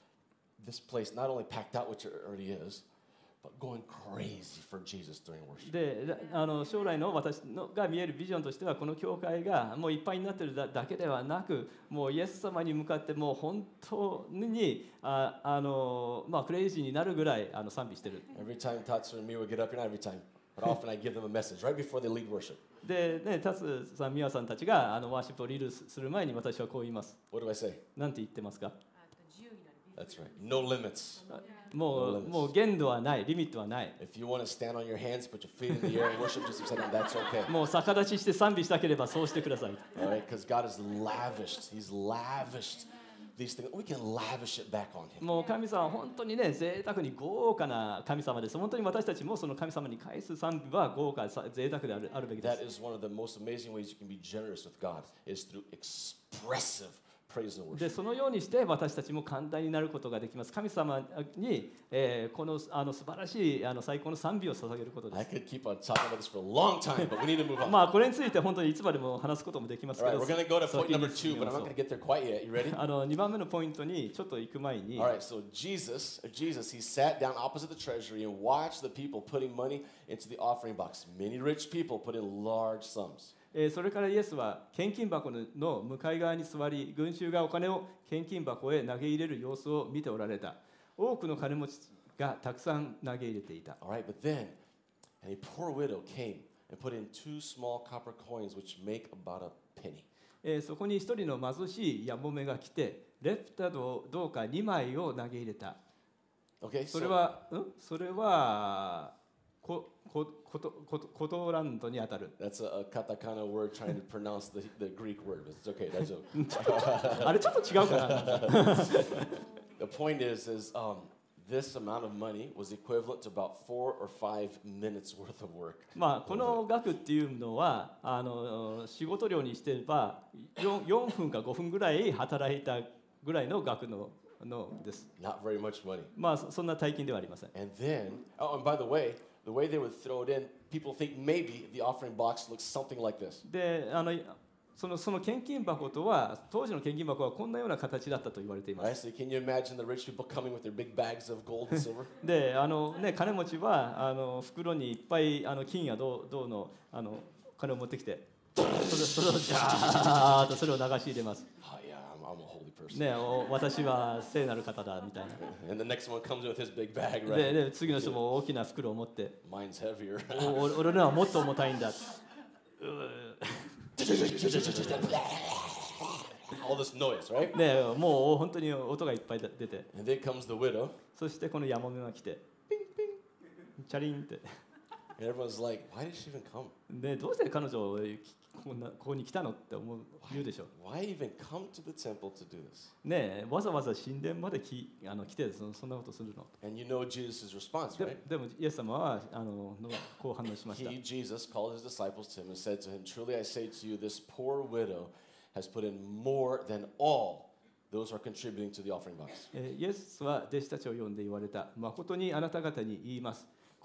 A: this place not only packed out, which it already is, but going crazy for Jesus during worship.
B: であの将来の私のが見えるビジョンとしてはこの教会がもういっぱいになっている だ, だけではなくもうイエス様に向かってもう本当にああの、まあ、クレイジーになるぐらいあの賛美してる。
A: Every time Tatsu and me would get up here, not every time, but often I give them a message right before they lead worship.
B: で、ね、タツさん、ミワさんたちがあのワーシップをリードする前に私はこう言います。
A: What do I say?
B: なんて言ってますか？
A: That's right. No limits.
B: も
A: No
B: う
A: limits.
B: もう限度はない、リミットはない。
A: If you want to stand on your hands, put your feet in the air and worship just a second, that's okay.
B: もう逆立ちして賛美したければそうしてください。
A: All right? Because God has lavished, He's lavished these things. We can lavish it back on Him.
B: もう神様は本当にね、贅沢に豪華な神様です。本当に私たちもその神様に返す賛美は豪華、贅沢であるあるべきで
A: That
B: す。
A: is one of the most amazing ways you can be generous with God, is through expressive praise and
B: で
A: worship.
B: そのようにして私たちも簡単になることができます。神様に、えー、このあの素晴らしいあの最高の賛美を捧げることで
A: I
B: す。
A: could keep on talking about this for a long time, but we need to move on.
B: まあこれについて本当にいつまでも話すこともできます
A: All
B: け
A: right,
B: ど、
A: we're going to go to
B: 先
A: point
B: に
A: number
B: 進
A: two,
B: み
A: but
B: ま
A: I'm
B: しょ
A: not
B: う
A: going to get there quite yet. You ready?
B: あのにばんめのポイントにちょっと行く前に、
A: All right, so Jesus, Jesus, he sat down opposite the treasury and watched the people putting money into the offering box. Many rich people put in large sums.
B: えーそれからイエスは献金箱の向かい側に座り、群衆がお金を献金箱へ投げ入れる様子を見ておられた。多くの金持ちがたくさん投げ入れていた。
A: All right, but then, and a poor widow came and put in two small copper coins, which make about a penny.
B: えーそこに一人の貧しいやもめが来て、レプタドどうかにまいを投げ入れた。
A: Okay,
B: それ
A: so
B: は、んそれはここことことコトランドにあたる。
A: that's a, a katakana word trying to pronounce the, the Greek word, but it's okay, that's okay.
B: あれちょっと違うかな。
A: The point is, is um, this amount of money was equivalent to about four or five minutes worth of work.
B: まあこの額っていうのはあの仕事量にしてれば 4, 4分かごふんぐらい働いたぐらいの額ののです。
A: Not very much money.
B: まあそそんな大金ではありません。
A: And then, oh, and by the way, the way they would throw it in, people think maybe the offering box looks something like this.
B: で、あのそのその献金箱とは当時の献金箱はこんなような形だったと言われていま
A: Right?
B: す。
A: So can you imagine the rich people coming with their big bags of gold and silver?
B: で、あのね金持ちはあの袋にいっぱいあの金や銅銅のあの金を持ってきて、それそれをジャーッとそれを流し入れます。
A: Oh yeah, I'm, I'm a holy person.
B: ね、お私は聖なる方だみたいな。
A: And the next one comes with his big bag,
B: で
A: right?
B: で次の人も大きな袋を持って
A: Mine's heavier.
B: おお俺のはもっと重たいんだ。
A: All this noise, right?
B: ね、もう本当に音がいっぱい出て、
A: And then comes the widow,
B: そしてこのヤモメが来て、チャリンって、
A: and everyone's like, why did she even come?
B: でどうして彼女こんなここに来たのって思う言うでしょ。
A: Why even come to the temple to do this?
B: ね、わざわざ神殿まできあの来てそそんなことするの。
A: And you know Jesus' response,
B: で
A: right?
B: でもイエス様はあののこう反応しました。
A: He, Jesus, called his disciples to him and said to him, Truly I say to you, this poor widow has put in more than all those who are contributing to the offering box.
B: えーイエスは弟子たちを呼んで言われた。誠にあなた方に言います。こ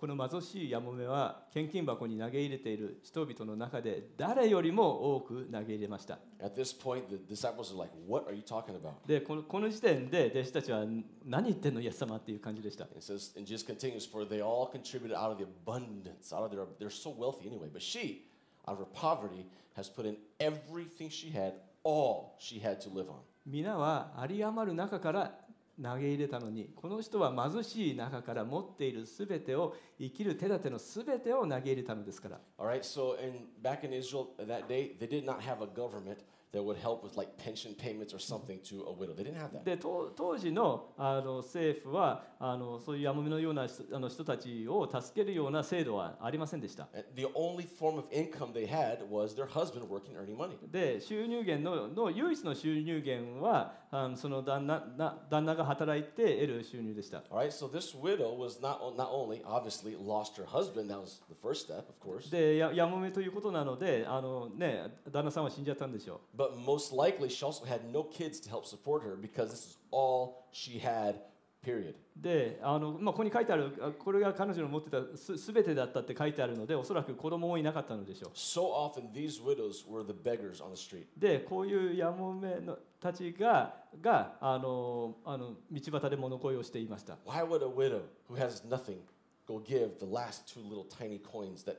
B: この貧しいやもめは献金箱に投げ入れている人々の中で誰よりも多く投げ入れました。
A: At this point, the disciples are like, "What are you talking about?"
B: でこの、この時点で弟子たちは何言ってんのイエス様っていう感じでした。
A: It says, and Jesus continues, "For they all contributed out of the abundance, out of their, they're so wealthy anyway. But she, out of her poverty, has put in everything she had, all she had to live on."
B: 皆は有り余る中から投げ入れたのに、この人は貧しい中から持っているすべてを、生きる手立てのすべてを投げ入れたのですから。
A: All right, so in, back in Israel that day, they did not have a government that would help with like pension payments or something to a widow. They didn't have that.
B: で当当時の、あの政府はあのそういうやもめのような人あの人たちを助けるような制度はありませんでした。
A: And the only form of income they had was their husband working, earning money.
B: で収入源 の, の唯一の収入源はあのその旦那な旦那が働いて得る収入でした。
A: All right, so this widow was not, not only obviously lost her husband, that was the first step, of course.
B: でややもめということなのであの、ね、旦那さんは死んじゃったんでしょう。
A: But most likely, she also had no kids to help support her because this is all she had, period.
B: であの、まあ、ここに書いてあるあこれが彼女の持ってたすすべてだったって書いてあるのでおそらく子供もいなかったのでしょう。
A: So often, these widows were the beggars on the street.
B: でこういうやもめのたちががあのあの道端で物乞いをしていました。
A: Why would a widow who has nothing go give the last two little tiny coins that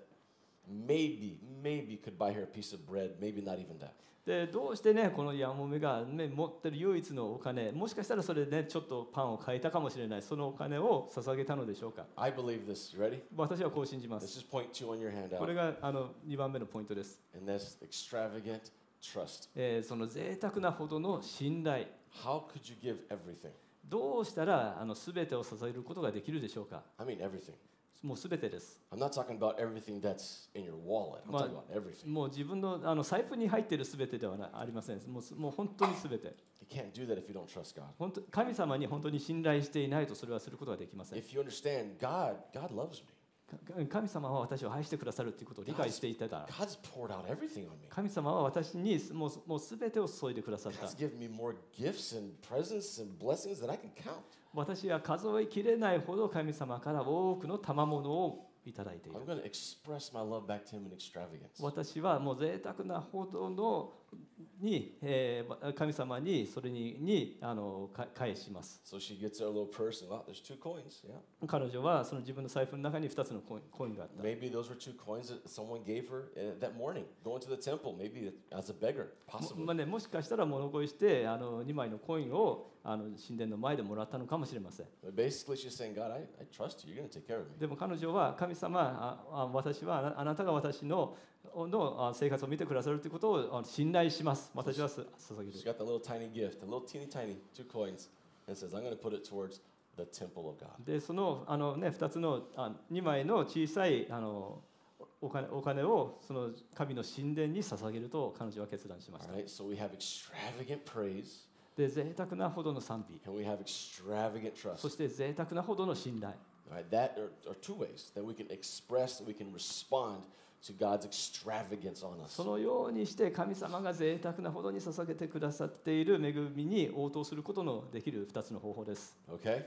A: maybe, maybe could buy her a piece of bread, maybe not even that?
B: でどうしてねこのやもめが、ね、持ってる唯一のお金、もしかしたらそれでねちょっとパンを買えたかもしれない、そのお金を捧げたのでしょうか。
A: I believe this. You ready?
B: 私はこう信じま
A: This
B: す。
A: is point two on your
B: これ
A: handout.
B: があのにばんめのポイントです。
A: And that's extravagant trust.
B: えーその贅沢なほどの信頼。
A: How could you give everything?
B: どうしたらあの全てを捧げることができるでしょうか。
A: I mean everything.
B: もう全てです。
A: I'm not talking about everything that's in your wallet. I'm talking about everything.
B: もう自分のあの財布に入っている全てではなありません。もうもう本当に全て。
A: You can't do that if you don't trust God.
B: 本当神様に本当に信頼していないとそれはすることができません。
A: If you understand God, God loves me.
B: か神様は私を愛してくださるということを理解していたら、
A: God's poured out everything on me.
B: 神様は私にもうもう全てを注いでくださった。
A: God's given me more gifts and presents and blessings than I can count.
B: 私は数えきれないほど神様から多くの賜物をいただいている。
A: I'm going to express my love back to Him in extravagance.
B: 私はもう贅沢なほどのに、えー神様にそれににあのか返します。
A: So she gets her little purse and, oh, there's two coins. Yeah.
B: 彼女はその自分の財布の中にふたつのコインコインがあった。
A: Maybe those were two coins that someone gave her uh, that morning, going to the temple, maybe as a beggar,
B: も
A: possibly.
B: まあね、もしかしたら物乞いしてあのにまいのコインをあの神殿の前でもらったのかもしれません。
A: But basically, she's saying, God, I, I trust you. You're going to take care of me.
B: でも彼女は神様、ああ私はあなあなたが私ののあ生活を見てくださるということをあ信頼します。私はす捧げ
A: She's
B: る。
A: got that little tiny gift, a little teeny tiny, two coins, and says, I'm going to put it towards the temple of God.
B: でそのあの、ね、ふたつのあにまいの小さいあのお金お金をその神の神殿に捧げると彼女は決断しまし
A: All
B: た。
A: right, so we have extravagant praise
B: で贅沢なほどの賛美、
A: and we have extravagant
B: そ
A: trust.
B: して贅沢なほどの信頼。
A: All right, that are, are two ways that we can express, that we can respond to God's extravagance on us.
B: そのようにして神様が贅沢なほどに捧げてくださっている恵みに応答することのできるふたつの方法です。
A: Okay?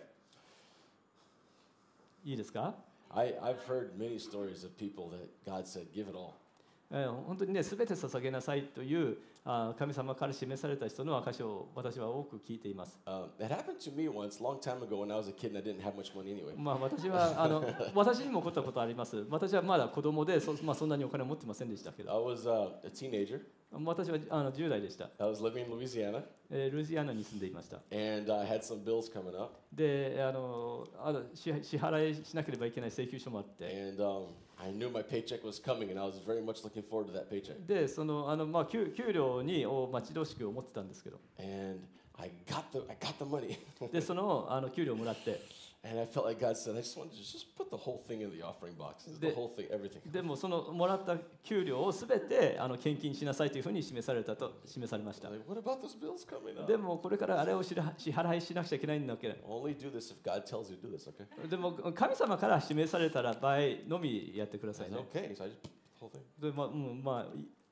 B: いいですか？
A: I, I've heard many stories of people that God said, give it all.
B: えー本当にね、すべて捧げなさいというあ神様から示された人の証を私は多く聞いています。
A: Um, that happened to me once, a long time ago when I was a kid and I didn't have much money anyway.
B: まあ私はあの私にも起こったことあります。私はまだ子供で そ,、まあ、そんなにお金を持ってませんでしたけ
A: I
B: ど、
A: was uh, a teenager.
B: 私はあのじゅう代でした。
A: I was living in Louisiana
B: えールイジアナに住んでいました。
A: and I had some bills coming up.
B: で、あのあの支支払いしなければいけない請求書もあって、
A: And um, I knew my paycheck was coming and I was very much looking forward to that paycheck.
B: で、そのあのまあ給給料にを待ち遠しく思ってたんですけど、
A: And I got the, I got the money.
B: でそのあの給料をもらって、
A: And I felt like God said, I just wanted to just put the whole thing in the offering box. Just the
B: The-
A: whole thing, everything.
B: でもそのもらった給料をすべてあの献金しなさいというふうに示されたと示されました。
A: Like, what about those bills coming up?
B: でもこれからあれを支払支払いしなくちゃいけないんだけど、
A: Only do this if God tells you to do this, okay?
B: でも神様から示されたら場合のみやってくだ
A: I
B: さい
A: said,
B: ね。
A: okay. So I just put the whole thing.
B: でまあ、うん、まあい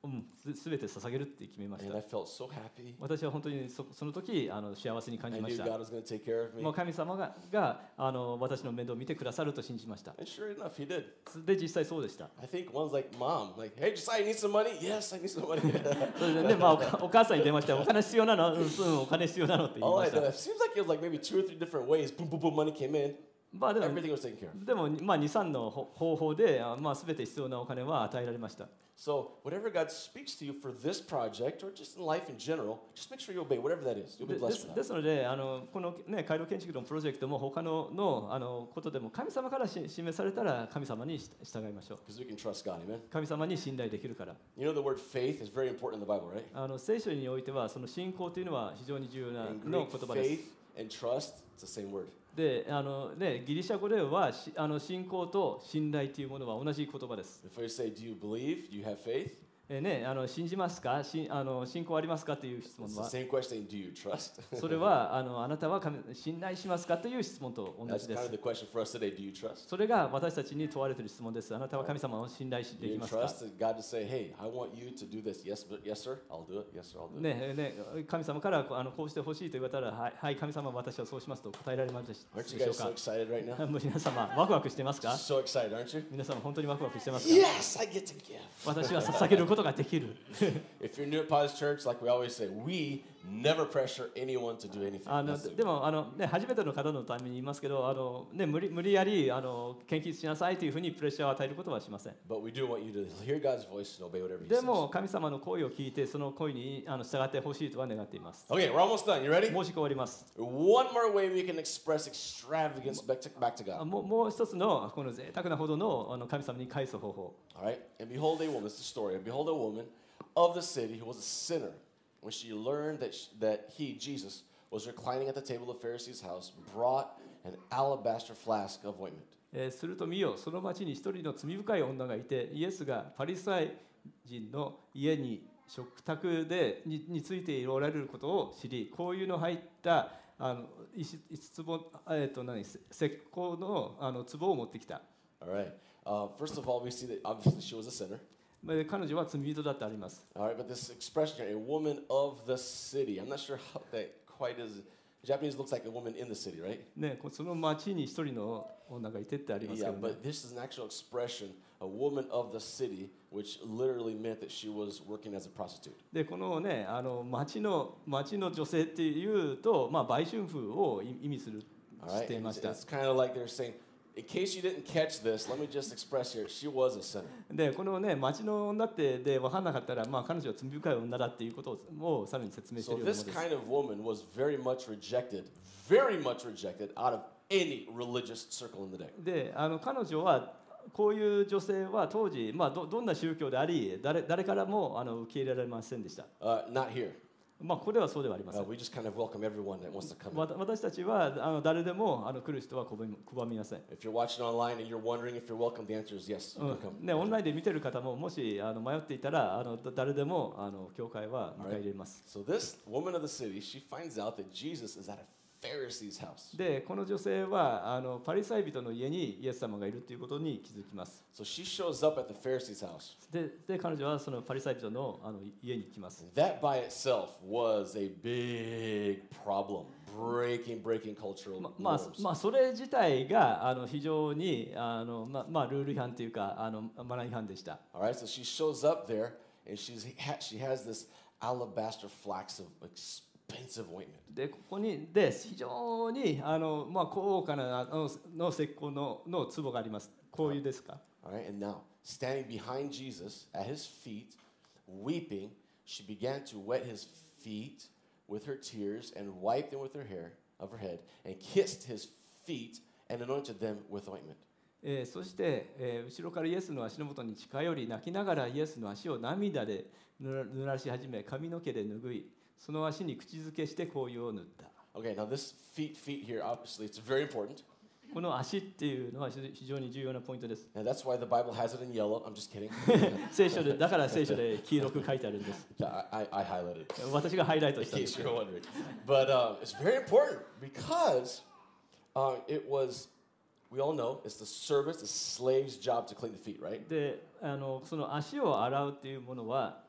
B: うん、すすべて捧げるって決めまし
A: And
B: た。
A: I felt so happy.
B: 私は本当に そ, その時あの幸せに感
A: I
B: じま
A: knew
B: した。
A: God was going to take care of me.
B: もう神様ががあの私の面倒を見てくださると信じました。
A: And sure enough, He did.
B: で、実際そうでした。
A: I think one's like, Mom, like, hey, Josiah, you need some money? Yes, I need some money.
B: それでね、まあ、おかお母さんに電話して、お金必要なの、うん、うんお金必要なのって言い
A: All
B: ま
A: I
B: し
A: know,
B: た。
A: it seems like it was like maybe two or three different ways. Boom, boom, boom, money came in.
B: まあでも、
A: Everything was taken care of.
B: でもまあ、に、さんのほ方法で、あまあ、全て必要なお金は与えられました。
A: So whatever God speaks to you for this project or just in life in general, just make sure you obey whatever that is. You'll
B: で
A: be
B: で
A: blessed
B: す
A: for
B: で
A: that.
B: すので、あのこの、ね、回路建築のプロジェクトも他ののあのことでも神様からし示されたら神様に従いましょう。
A: Because we can trust God, amen?
B: 神様に信頼できるから。
A: You know the word faith is very important in the Bible, right?
B: あの聖書においてはその信仰というのは非常に重要な
A: In
B: の
A: Greek,
B: 言葉です。
A: faith and trust, it's the same word.
B: であのね、ギリシャ語ではしあの信仰と信頼というものは同じ言葉です。
A: If we say, do you believe? Do you have faith?
B: えね、あの信じますかしあの信仰ありますかという質問
A: It's the
B: は
A: same question, do you trust?
B: それはあのあなたは神信頼しますかという質問と同
A: That's
B: じで
A: kind
B: す
A: of。the question for us today. Do you trust?
B: それが私たちに問われている質問です。あなたは神様を信頼し
A: Do
B: でき
A: you
B: ますか
A: trust God to say, hey, I want you to do this? Yes, but yes, sir. I'll do it. Yes, sir. I'll do it.
B: ねね、神様からあのこうしてほしいと言われたら、はい、はい、神様、私はそうしますと答えられますでし
A: Aren't you
B: でしょ
A: guys
B: う
A: so
B: か。
A: excited right now?
B: もう皆様、ワクワクしてますか。
A: So excited, aren't you?
B: 皆様、本当にワクワクしてますか。
A: Yes, I get to give.
B: 私は捧げることができる。
A: If you're new at Potter's Church, like we always say, we never pressure anyone to do anything.
B: あの
A: That's the-
B: でもあの、ね、初めての方のために言いますけど、あの、ね、無理無理やりあの献金しなさいというふうにプレッシャーを与えることはしません。
A: But we do want you to hear God's voice and obey whatever He
B: で
A: says.
B: も、神様の声を聞いて、その声にあの従ってほしいとは願っています。
A: Okay, we're almost done. You ready?
B: もうし終わります。
A: One more way we can express extravagance back to, back to
B: あ
A: God.
B: もうもう一つのこの贅沢なほどのあの神様に返す方法。
A: All right? And behold a woman, it's the story. And behold a woman of the city who was a sinner. When she learned that, sh that he, Jesus, was reclining at the table of Pharisee's house, brought an alabaster flask of ointment.
B: えーすると見よ、その町に一人の罪深い女がいて、イエスがパリサイ人の家に食卓で に, についておられることを知り、香油の入ったあの石石壺、えー、と何石膏のあの壺を持ってきた。
A: All right. Uh, first of all, we see that obviously she was a sinner.
B: まあ彼女は罪人だってあります。
A: All right, but this expression here, a woman of the city, I'm not sure how that quite is. Japanese looks like a woman in the city, right?
B: ね、こその町に一人の女がいてってありますけ
A: Yeah,
B: ど、ね
A: but this is an actual expression, a woman of the city, which literally meant that she was working as a prostitute.
B: でこのね、あの町の町の女性っていうと、まあ、売春婦を意意味する
A: All
B: し
A: right,
B: てい
A: and
B: ま
A: it's,
B: した。
A: it's kind of like they're saying, in case you didn't catch this, let me just express here, she was a sinner.
B: でこのね、町の女ってで分からなかったら、まあ、彼女は罪深い女だっていうことをさらに説明してい
A: So
B: るような
A: this
B: ものです。
A: kind of woman was very much rejected, very much rejected out of any religious circle in the day.
B: であの彼女はこういう女性は当時、まあ、ど, どんな宗教であり 誰, 誰からもあの受け入れられませんでした。
A: Uh, not here.
B: まあ、ここではそうではありませ
A: Uh,
B: ん。
A: we just kind of welcome everyone that wants to come in.
B: わた私たちはあの誰でもあの来る人は拒み拒みません。
A: If you're watching online and you're wondering if you're welcome, the answer is yes,
B: う
A: you
B: ん
A: can come.
B: ね、オンラインで見てる方ももしあの迷っていたらあのだ誰でもあの教会は迎え入れます。
A: So this woman of the city, she finds out that Jesus is at a Pharisee's house.
B: でこの女性はあのパリサイ人の家にイエス様がいるということに気づきます。
A: So she shows up at the Pharisee's house.
B: でで彼女はそのパリサイ人のあの家に来ます。
A: And that by itself was a big problem, breaking, breaking cultural
B: ままあ
A: norms.
B: まあ、それ自体があの非常にあの、ままあ、ルール違反というかあのマナー違反でした。
A: All right, so she shows up there and she's, ha- she has this alabaster flask of expensive ointment.
B: でここにで非常にあの、まあ、高価なあのの石膏のの壺があります。こういうですか。
A: All right, and now, standing behind Jesus at his feet, weeping, she began to wet his feet with her tears and wiped them with her hair of her head and kissed his feet and anointed them with ointment.
B: えーそして、えー後ろからイエスの足の元に近寄り泣きながらイエスの足を涙で濡ら濡らし始め髪の毛で拭いその足に口づけして香油を塗った。
A: Okay, now this feet, feet here, obviously, it's very important.
B: この足っていうのは非常に重要なポイントです。
A: And that's why the Bible has it in yellow. I'm just kidding.
B: 聖書でだから聖書で黄色く書いてあるんです。
A: Yeah, I, I, I highlighted it.
B: 私がハイライト
A: In
B: したんで
A: case
B: す
A: you're wondering. But uh, it's very important because uh, it was, we all know, it's the servant's, the slave's job to clean the feet, right?
B: であのその足を洗うっていうものは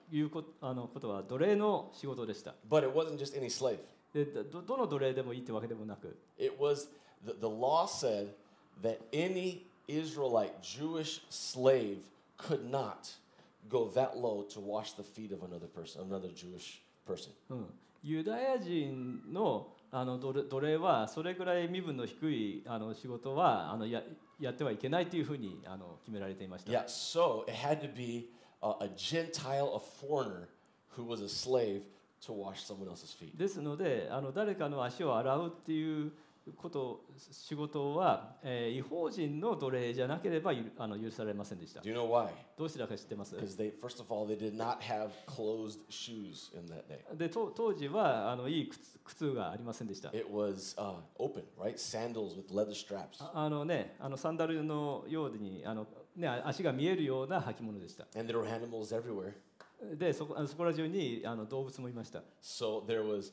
B: いうこあのことは奴隷の仕事でした。
A: But it wasn't just any slave.
B: でどどの奴隷でもいいってわけでもなく、
A: It was, the, the law said that any Israelite Jewish slave could not go that low to wash the feet of another person, another Jewish person.
B: うん、ユダヤ人のあの奴隷奴隷はそれぐらい身分の低いあの仕事はあの や, やってはいけないというふうにあの決められていました。
A: Yeah, so it had to be a, a Gentile, a foreigner who was a slave to wash someone else's feet.
B: ですのであの誰かの足を洗うっていうこと仕事は、えー、違法人の奴隷じゃなければゆあの許されませんでした。
A: Do you know why?
B: どうしてだか知ってます？
A: Because they, first of all, they did not have closed shoes in that day.
B: でと当時はあのいい靴靴がありませんでした。
A: It was uh, open, right? Sandals with leather straps.
B: ああのね、あのサンダルのようにあの、ね、足が見えるような履物でした。
A: And there were animals everywhere.
B: でそこあのそこら中にあの動物もいました。
A: So there was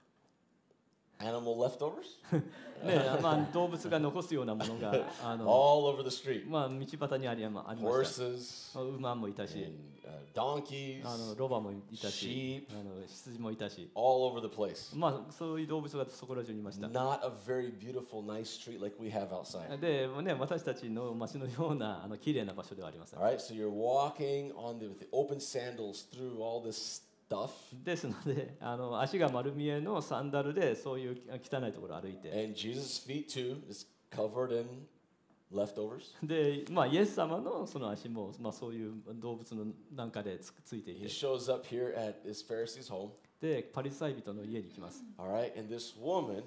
A: animal leftovers
B: ねまあ、動物が残すようなものがあの、
A: all over the street.
B: まあ、道端にありありました。
A: Horses
B: 馬もいたし、
A: and uh, donkeys,
B: あのロバもいたし、
A: sheep,
B: あの羊もいたし、
A: all over the place.
B: まあ、そういう動物がそこら中にいました。
A: Not a very beautiful, nice street like we have outside.
B: で、ね、私たちの街のようなあの綺麗な場所ではありません。
A: All right, so you're walking on the, with the open sandals through all this stuff.
B: ですのであの足が丸見えのサンダルでそういう汚いところを歩いて、
A: And Jesus' feet too is covered in leftovers.
B: で、まあ、イエス様のその足も、まあ、そういう動物のなんかでつついてい
A: He
B: て、
A: shows up here at this Pharisee's home.
B: でパリサイ人の家に行きます。
A: All right, and this woman,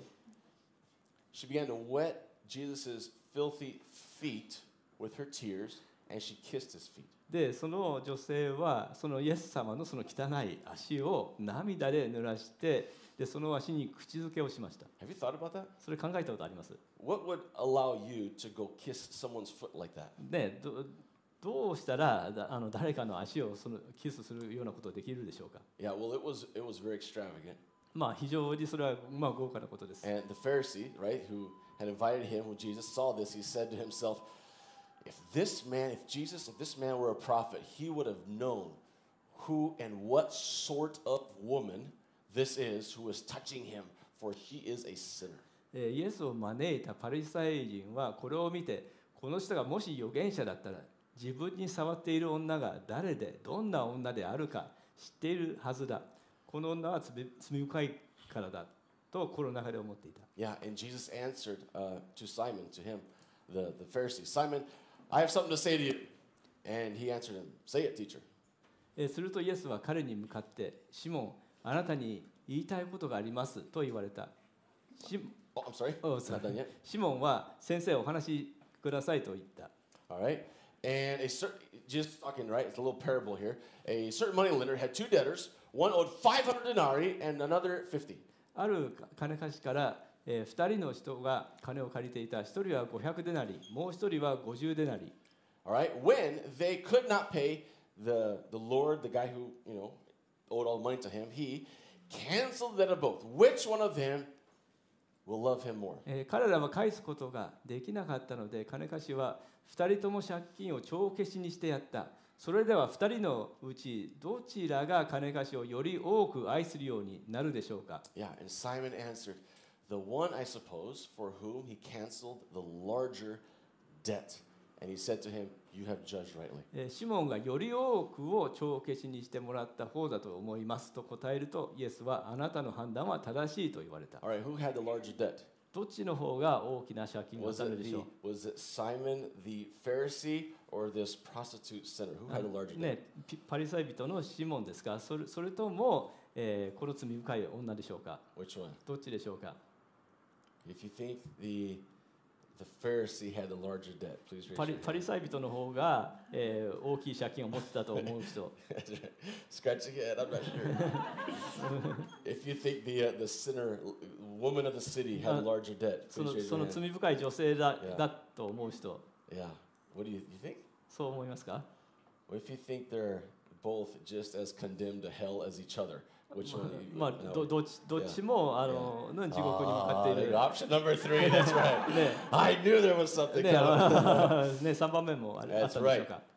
A: she began to wet Jesus' filthy feet with her tears, and she kissed his feet.
B: でその女性はそのイエス様のその汚い足を涙で濡らして、でその足に口づけをしました。
A: Have you thought about that?
B: それ考えたことあります？
A: What would allow you to go kiss someone's foot like that?
B: ね、どどうしたらだあの誰かの足をそのキスするようなことができるでしょうか？
A: Yeah, well, it was it was very extravagant.
B: まあ非常にそれはまあ豪華なことです。
A: And the Pharisee, right, who had invited him, when Jesus saw this, he said to himself, if this man, if Jesus, if this man were a prophet, he would have known who and what sort of woman this is who is touching him, for he is a sinner.
B: えーイエスを招いたパリサイ人はこれを見て、この人がもし預言者だったら自分に触っている女が誰でどんな女であるか知っているはずだ。この女は罪罪深いからだと心の中で思っていた。
A: Yeah, and Jesus answered uh, to Simon, to him, the, the Pharisee, Simon, I have something to say to you. And he answered him, say it, teacher.
B: えーするとイエスは彼に向かってシモン、あなたに言いたいことがありますと言われた。シ
A: Oh, I'm sorry.
B: Oh,
A: It's not done yet.
B: シモンは先生お話しくださいと言った。
A: All right. And a certain, just talking, right? It's a little parable here. A certain money lender had two debtors. One owed five hundred denarii and another fifty.
B: ある金貸しからえー、ふたりの人が金を借りていた。ひとりはごひゃくデナリ、もうひとりはごじゅうデナリ。
A: All right. When they could not pay the, the Lord, the guy who, you know, owed all the money to him, he canceled the debt of both. Which one of them will love him more?
B: えー彼らは返すことができなかったので、金貸しはふたりとも借金を帳消しにしてやった。それではふたりのうちどちらが金貸しをより多く愛するようになるでしょうか？
A: Yeah. And Simon answered, the one, I suppose, for whom he canceled the larger debt. And he said to him, you have judged rightly.
B: えーシモンがより多くを帳消しにしてもらった方だと思いますと答えると、イエスはあなたの判断は正しいと言われた。
A: All right. Who had the larger debt?
B: どっちの方が大きな借金を
A: Was
B: され
A: it
B: るでし
A: the
B: ょう？
A: was it Simon the Pharisee or this prostitute sinner? Who had the larger debt?
B: ね、ピパリサイ人のシモンですか？それそれとも、えーこの罪深い女でしょうか？
A: Which one?
B: どっちでしょうか？
A: If you think the the Pharisee had the larger debt, please raise
B: パリ
A: your
B: パリ
A: hand.
B: サイ人の方が、えー大きい借金を持ってたと思う人。
A: Scratch your head. I'm not sure. If you think the uh, the sinner woman of the city had the larger debt,
B: そ
A: please
B: の
A: raise
B: そ
A: your
B: の
A: hand.
B: 罪深い女性だ
A: Yeah.
B: だと思う人、
A: Yeah. What do you you think?
B: そう思いますか？
A: Well, if you think they're both just as condemned to hell as each other, which one? Do you,
B: まあ
A: no.
B: どどっちどっちもあのの地獄に向か
A: Ah,
B: っている。
A: option number three. That's right.
B: ね
A: I knew there was something
B: ね
A: coming.
B: ねさんばんめもああった
A: That's
B: でしょう
A: right.
B: か？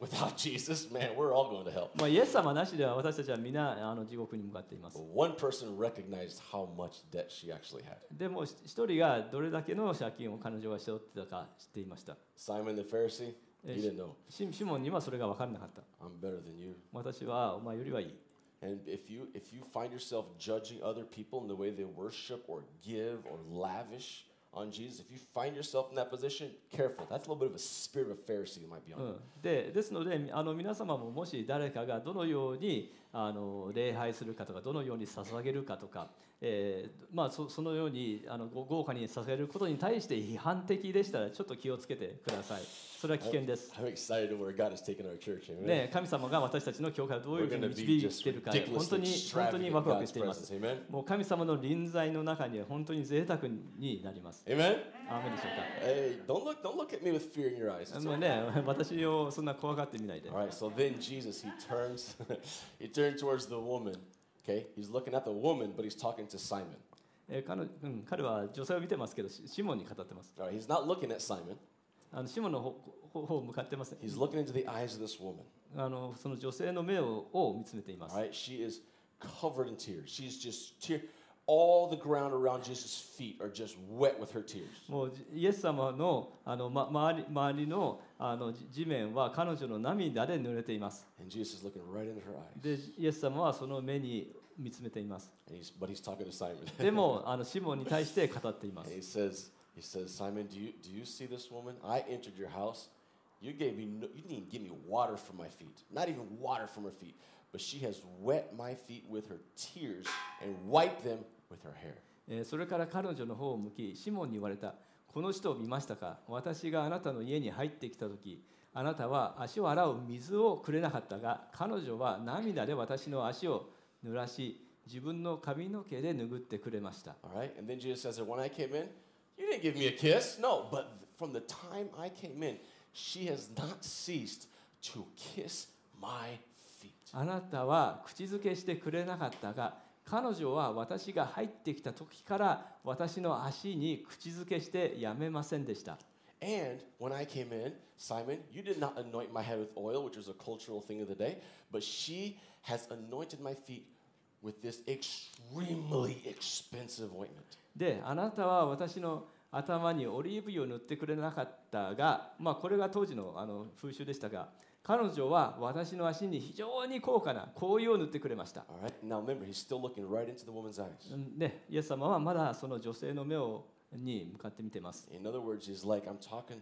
A: without Jesus, man, we're all going to hell.
B: まあ、イエス様なしでは私たちは皆あの地獄に向かっています。
A: But one person recognized how much debt she actually had.
B: でも一人がどれだけの借金を彼女はしておってたか知っていました。
A: Simon the Pharisee, he didn't know.
B: シシモンにはそれが分からなかった。
A: I'm better than you.
B: 私はお前よりはいい。
A: And if you if you find yourself judging other people in the way they worship or give or lavish on Jesus, if you find yourself in that position, careful. That's a little bit of a spirit of Pharisee that might be on
B: う
A: you.
B: ん、でですのであの皆様ももし誰かがどのようにあの礼拝するかとかどのように捧げるかとか、えーまあ、そ, そのようにあの豪華に捧げることに対して批判的でしたらちょっと気をつけてください。それは危険です。
A: I'm excited where God has taken our church. Amen.
B: ね、神様が私たちの教会をどういうふうに導いているか本当に本当にワクワクしています。もう神様の臨在の中には本当に贅沢になります。
A: Amen.
B: アーメンでしょうか。
A: Hey, don't look don't look at me with fear in your eyes. It's
B: もうね、私をそんな怖がってみないで。
A: All right, so then Jesus, he turns, he turned towards the woman. Okay, he's looking at the woman, but he's talking to Simon.
B: えー 彼, うん、彼は女性を見てますけど、シシモンに語ってます。
A: All right, he's not looking at Simon.
B: あのシモンの方方を向かってます。
A: He's looking into the eyes of this woman.
B: あのその女性の目をを見つめています。
A: All right, she is covered in tears. She's just tear. All the ground around Jesus' feet are just wet with her tears.
B: もうイエス様のあの、ま、周り周りのあの地面は彼女の涙で濡れています。
A: And Jesus is looking right into her eyes.
B: で、イエス様はその目に見つめています。
A: And he's, but he's talking to Simon.
B: でもあのシモンに対して語っています。
A: And he says, he says, Simon, do you do you see this woman? I entered your house. You gave me no, you didn't even give me water from my feet. Not even water from her feet. But she has wet my feet with her tears and wiped them with her hair.
B: えーそれから彼女の方を向き、シモンに言われた。この人を見ましたか？私があなたの家に入ってきたとき、あなたは足を洗う水をくれなかったが、彼女は涙で私の足を濡らし、自分の髪の毛で拭ってくれました。
A: All right? And then Jesus says that when I came in, you didn't give me a kiss. No, but from the time I came in, she has not ceased to kiss my feet.
B: あなたは口づけしてくれなかったが、彼女は私が入ってきた時から私の足に口づけしてやめませんでした。
A: And when I came in, Simon, you did not anoint my head with oil, which was a cultural thing of the day, but she has anointed my feet with this extremely expensive ointment.
B: で、あなたは私の頭にオリーブ油を塗ってくれなかったが、まあ、これが当時のあの風習でしたが、彼女は私の足に非常に高価な香油を塗ってくれました。
A: All right? Now remember, he's still looking right into the woman's eyes.
B: で、イエス様はまだその女性の目をに向かって見ています。
A: In other words, he's like, I'm talking,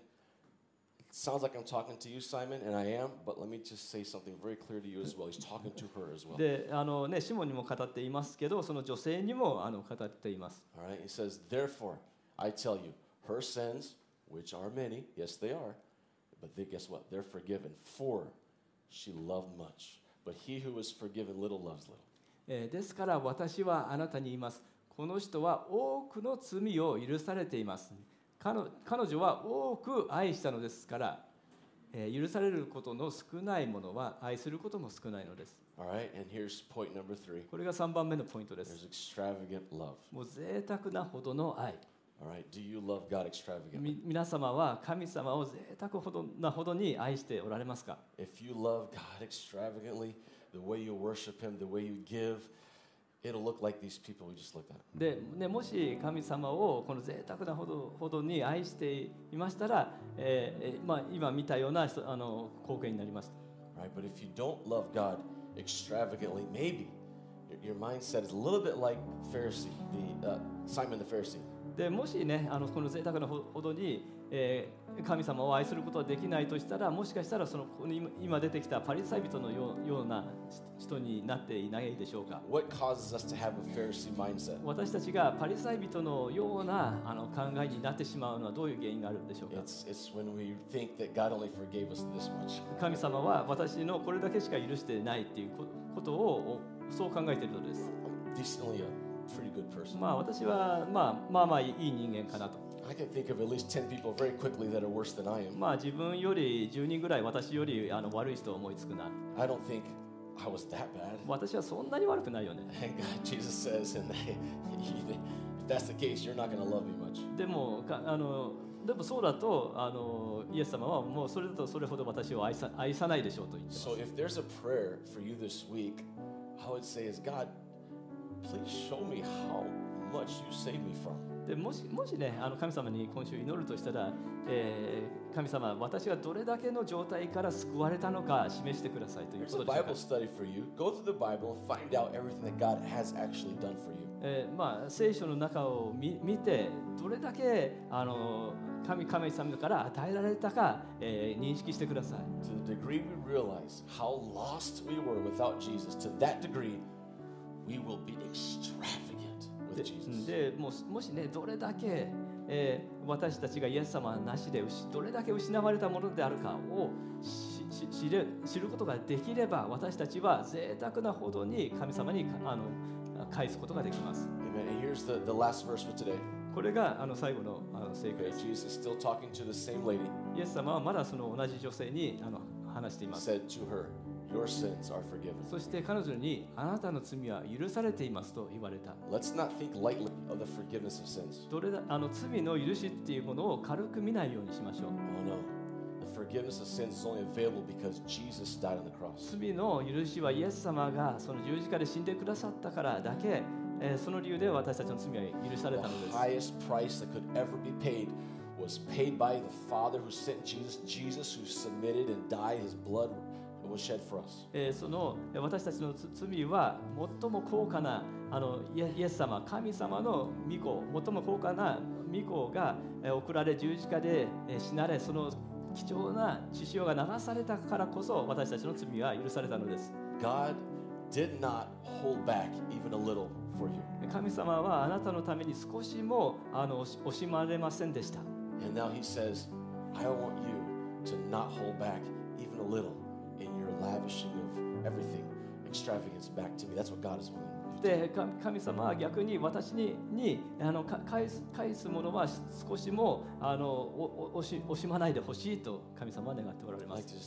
A: it sounds like I'm talking to you, Simon, and I am, but let me just say something very clear to you as well. He's talking to her as well.
B: で、あのね、シモンにも語っていますけど、その女性にもあの語っています。
A: All right? He says, therefore, I tell you, her sins, which are many, yes, they are, but they, guess what? They're forgiven, for she loved much. But he who is forgiven little loves little.
B: えーですから私はあなたに言います。この人は多くの罪を許されています。彼彼女は多く愛したのですから、えー許されることの少ないものは愛することも少ないのです。
A: All right? And here's point number three.
B: これがさんばんめのポイントで
A: There's
B: す。
A: extravagant love.
B: もう贅沢なほどの愛。
A: All right? Do you love God extravagantly?
B: み皆様は神様を贅沢ほどなほどに愛しておられますか？
A: If you love God extravagantly, the way you worship Him, the way you give, it'll look like these people we just looked at.
B: で、ね、もし神様をこの贅沢なほどほどに愛していましたら、えーえーまあ、今見たような人あの光景になります。
A: Right? But if you don't love God extravagantly, maybe your, your mindset is a little bit like Pharisee, the uh, Simon the Pharisee.
B: でもしね、あのこの贅沢なほどに、えー神様を愛することはできないとしたら、もしかしたらそのこの今今出てきたパリサイ人のようような人になっていないでしょうか。
A: What causes us to have a Pharisee mindset?
B: 私たちがパリサイ人のようなあの考えになってしまうのはどういう原因があるんでしょうか。
A: It's, it's when we think that God only forgave us this much.
B: 神様は私のこれだけしか許してないっていうことをそう考えているのです。
A: I'm decently a pretty good person.
B: まあ私は、まあ、まあまあいい人間かなと。
A: I can think of at least ten people very quickly that are worse than I am.
B: まあ自分よりじゅうにんぐらい私よりあの悪い人を思いつくな。
A: I don't think I was that bad.
B: 私はそんなに悪くないよね。
A: And God, Jesus says, and if that's the case, you're not going to love me much.
B: でもかあのでもそうだとあのイエス様はもうそれだとそれほど私を愛さ、愛さないでしょうと言ってます。
A: So if there's a prayer for you this week, I would say is God, please show me how much you save me from.
B: でもしもしね、あの神様に今週祈るとしたら、えー、神様、私がどれだけの状態から救われたのか示してくださいという
A: Here's
B: こ
A: a
B: とでしょう
A: Bible
B: か。
A: study for you. Go through the Bible and find out everything that God has actually done for you.
B: えーまあ、聖書の中を 見, 見てどれだけあの 神, 神様から与えられたか、えー、認識してください。
A: To the degree we realize how lost we were without Jesus, to that degree, we will be extravagant with
B: で
A: Jesus.
B: で も, もしね、どれだけ、えー、私たちがイエス様なしでどれだけ失われたものであるかを し, し 知, る知ることができれば、私たちは贅沢なほどに神様にあの返すことができます。
A: Amen. And here's the, the last verse for today.
B: これがあの最後のあの聖句
A: Okay,
B: です。
A: Jesus is still talking to the same lady.
B: イエス様はまだその同じ女性にあの話してい
A: He
B: ます。
A: said to her, your sins are forgiven.
B: そして彼女にあなたの罪は許されていますと言われた。
A: Let's not think lightly of the forgiveness of sins.
B: どれだあの罪の許しっていうものを軽く見ないようにしましょう。
A: Oh no. The forgiveness of sins is only available because Jesus died on the cross.
B: 罪の許しはイエス様がその十字架で死んでくださったからだけ、えーその理由で私たちの罪は許されたの
A: The
B: です。
A: highest price that could ever be paid was paid by the Father who sent Jesus, Jesus who submitted and died, his blood was shed for us.
B: えーそのえー私たちのつ罪は最も高価なあのイエイエス様、神様の御子、最も高価な御子がえー送られ十字架でえー死なれ、その貴重な血潮が流されたからこそ私たちの罪は許されたのです。
A: God did not hold back even a little for you.
B: 神様はあなたのために少しもあの惜し惜しまれませんでした。
A: And now he says, I want you to not hold back even a little in your lavishing of everything, extravagance back to me. That's what God is willing.
B: でか神様は逆に私ににあのか返す返すものは少しもあのおお惜し惜しまないでほしいと神様は願っておられま
A: I'd like
B: す。
A: to just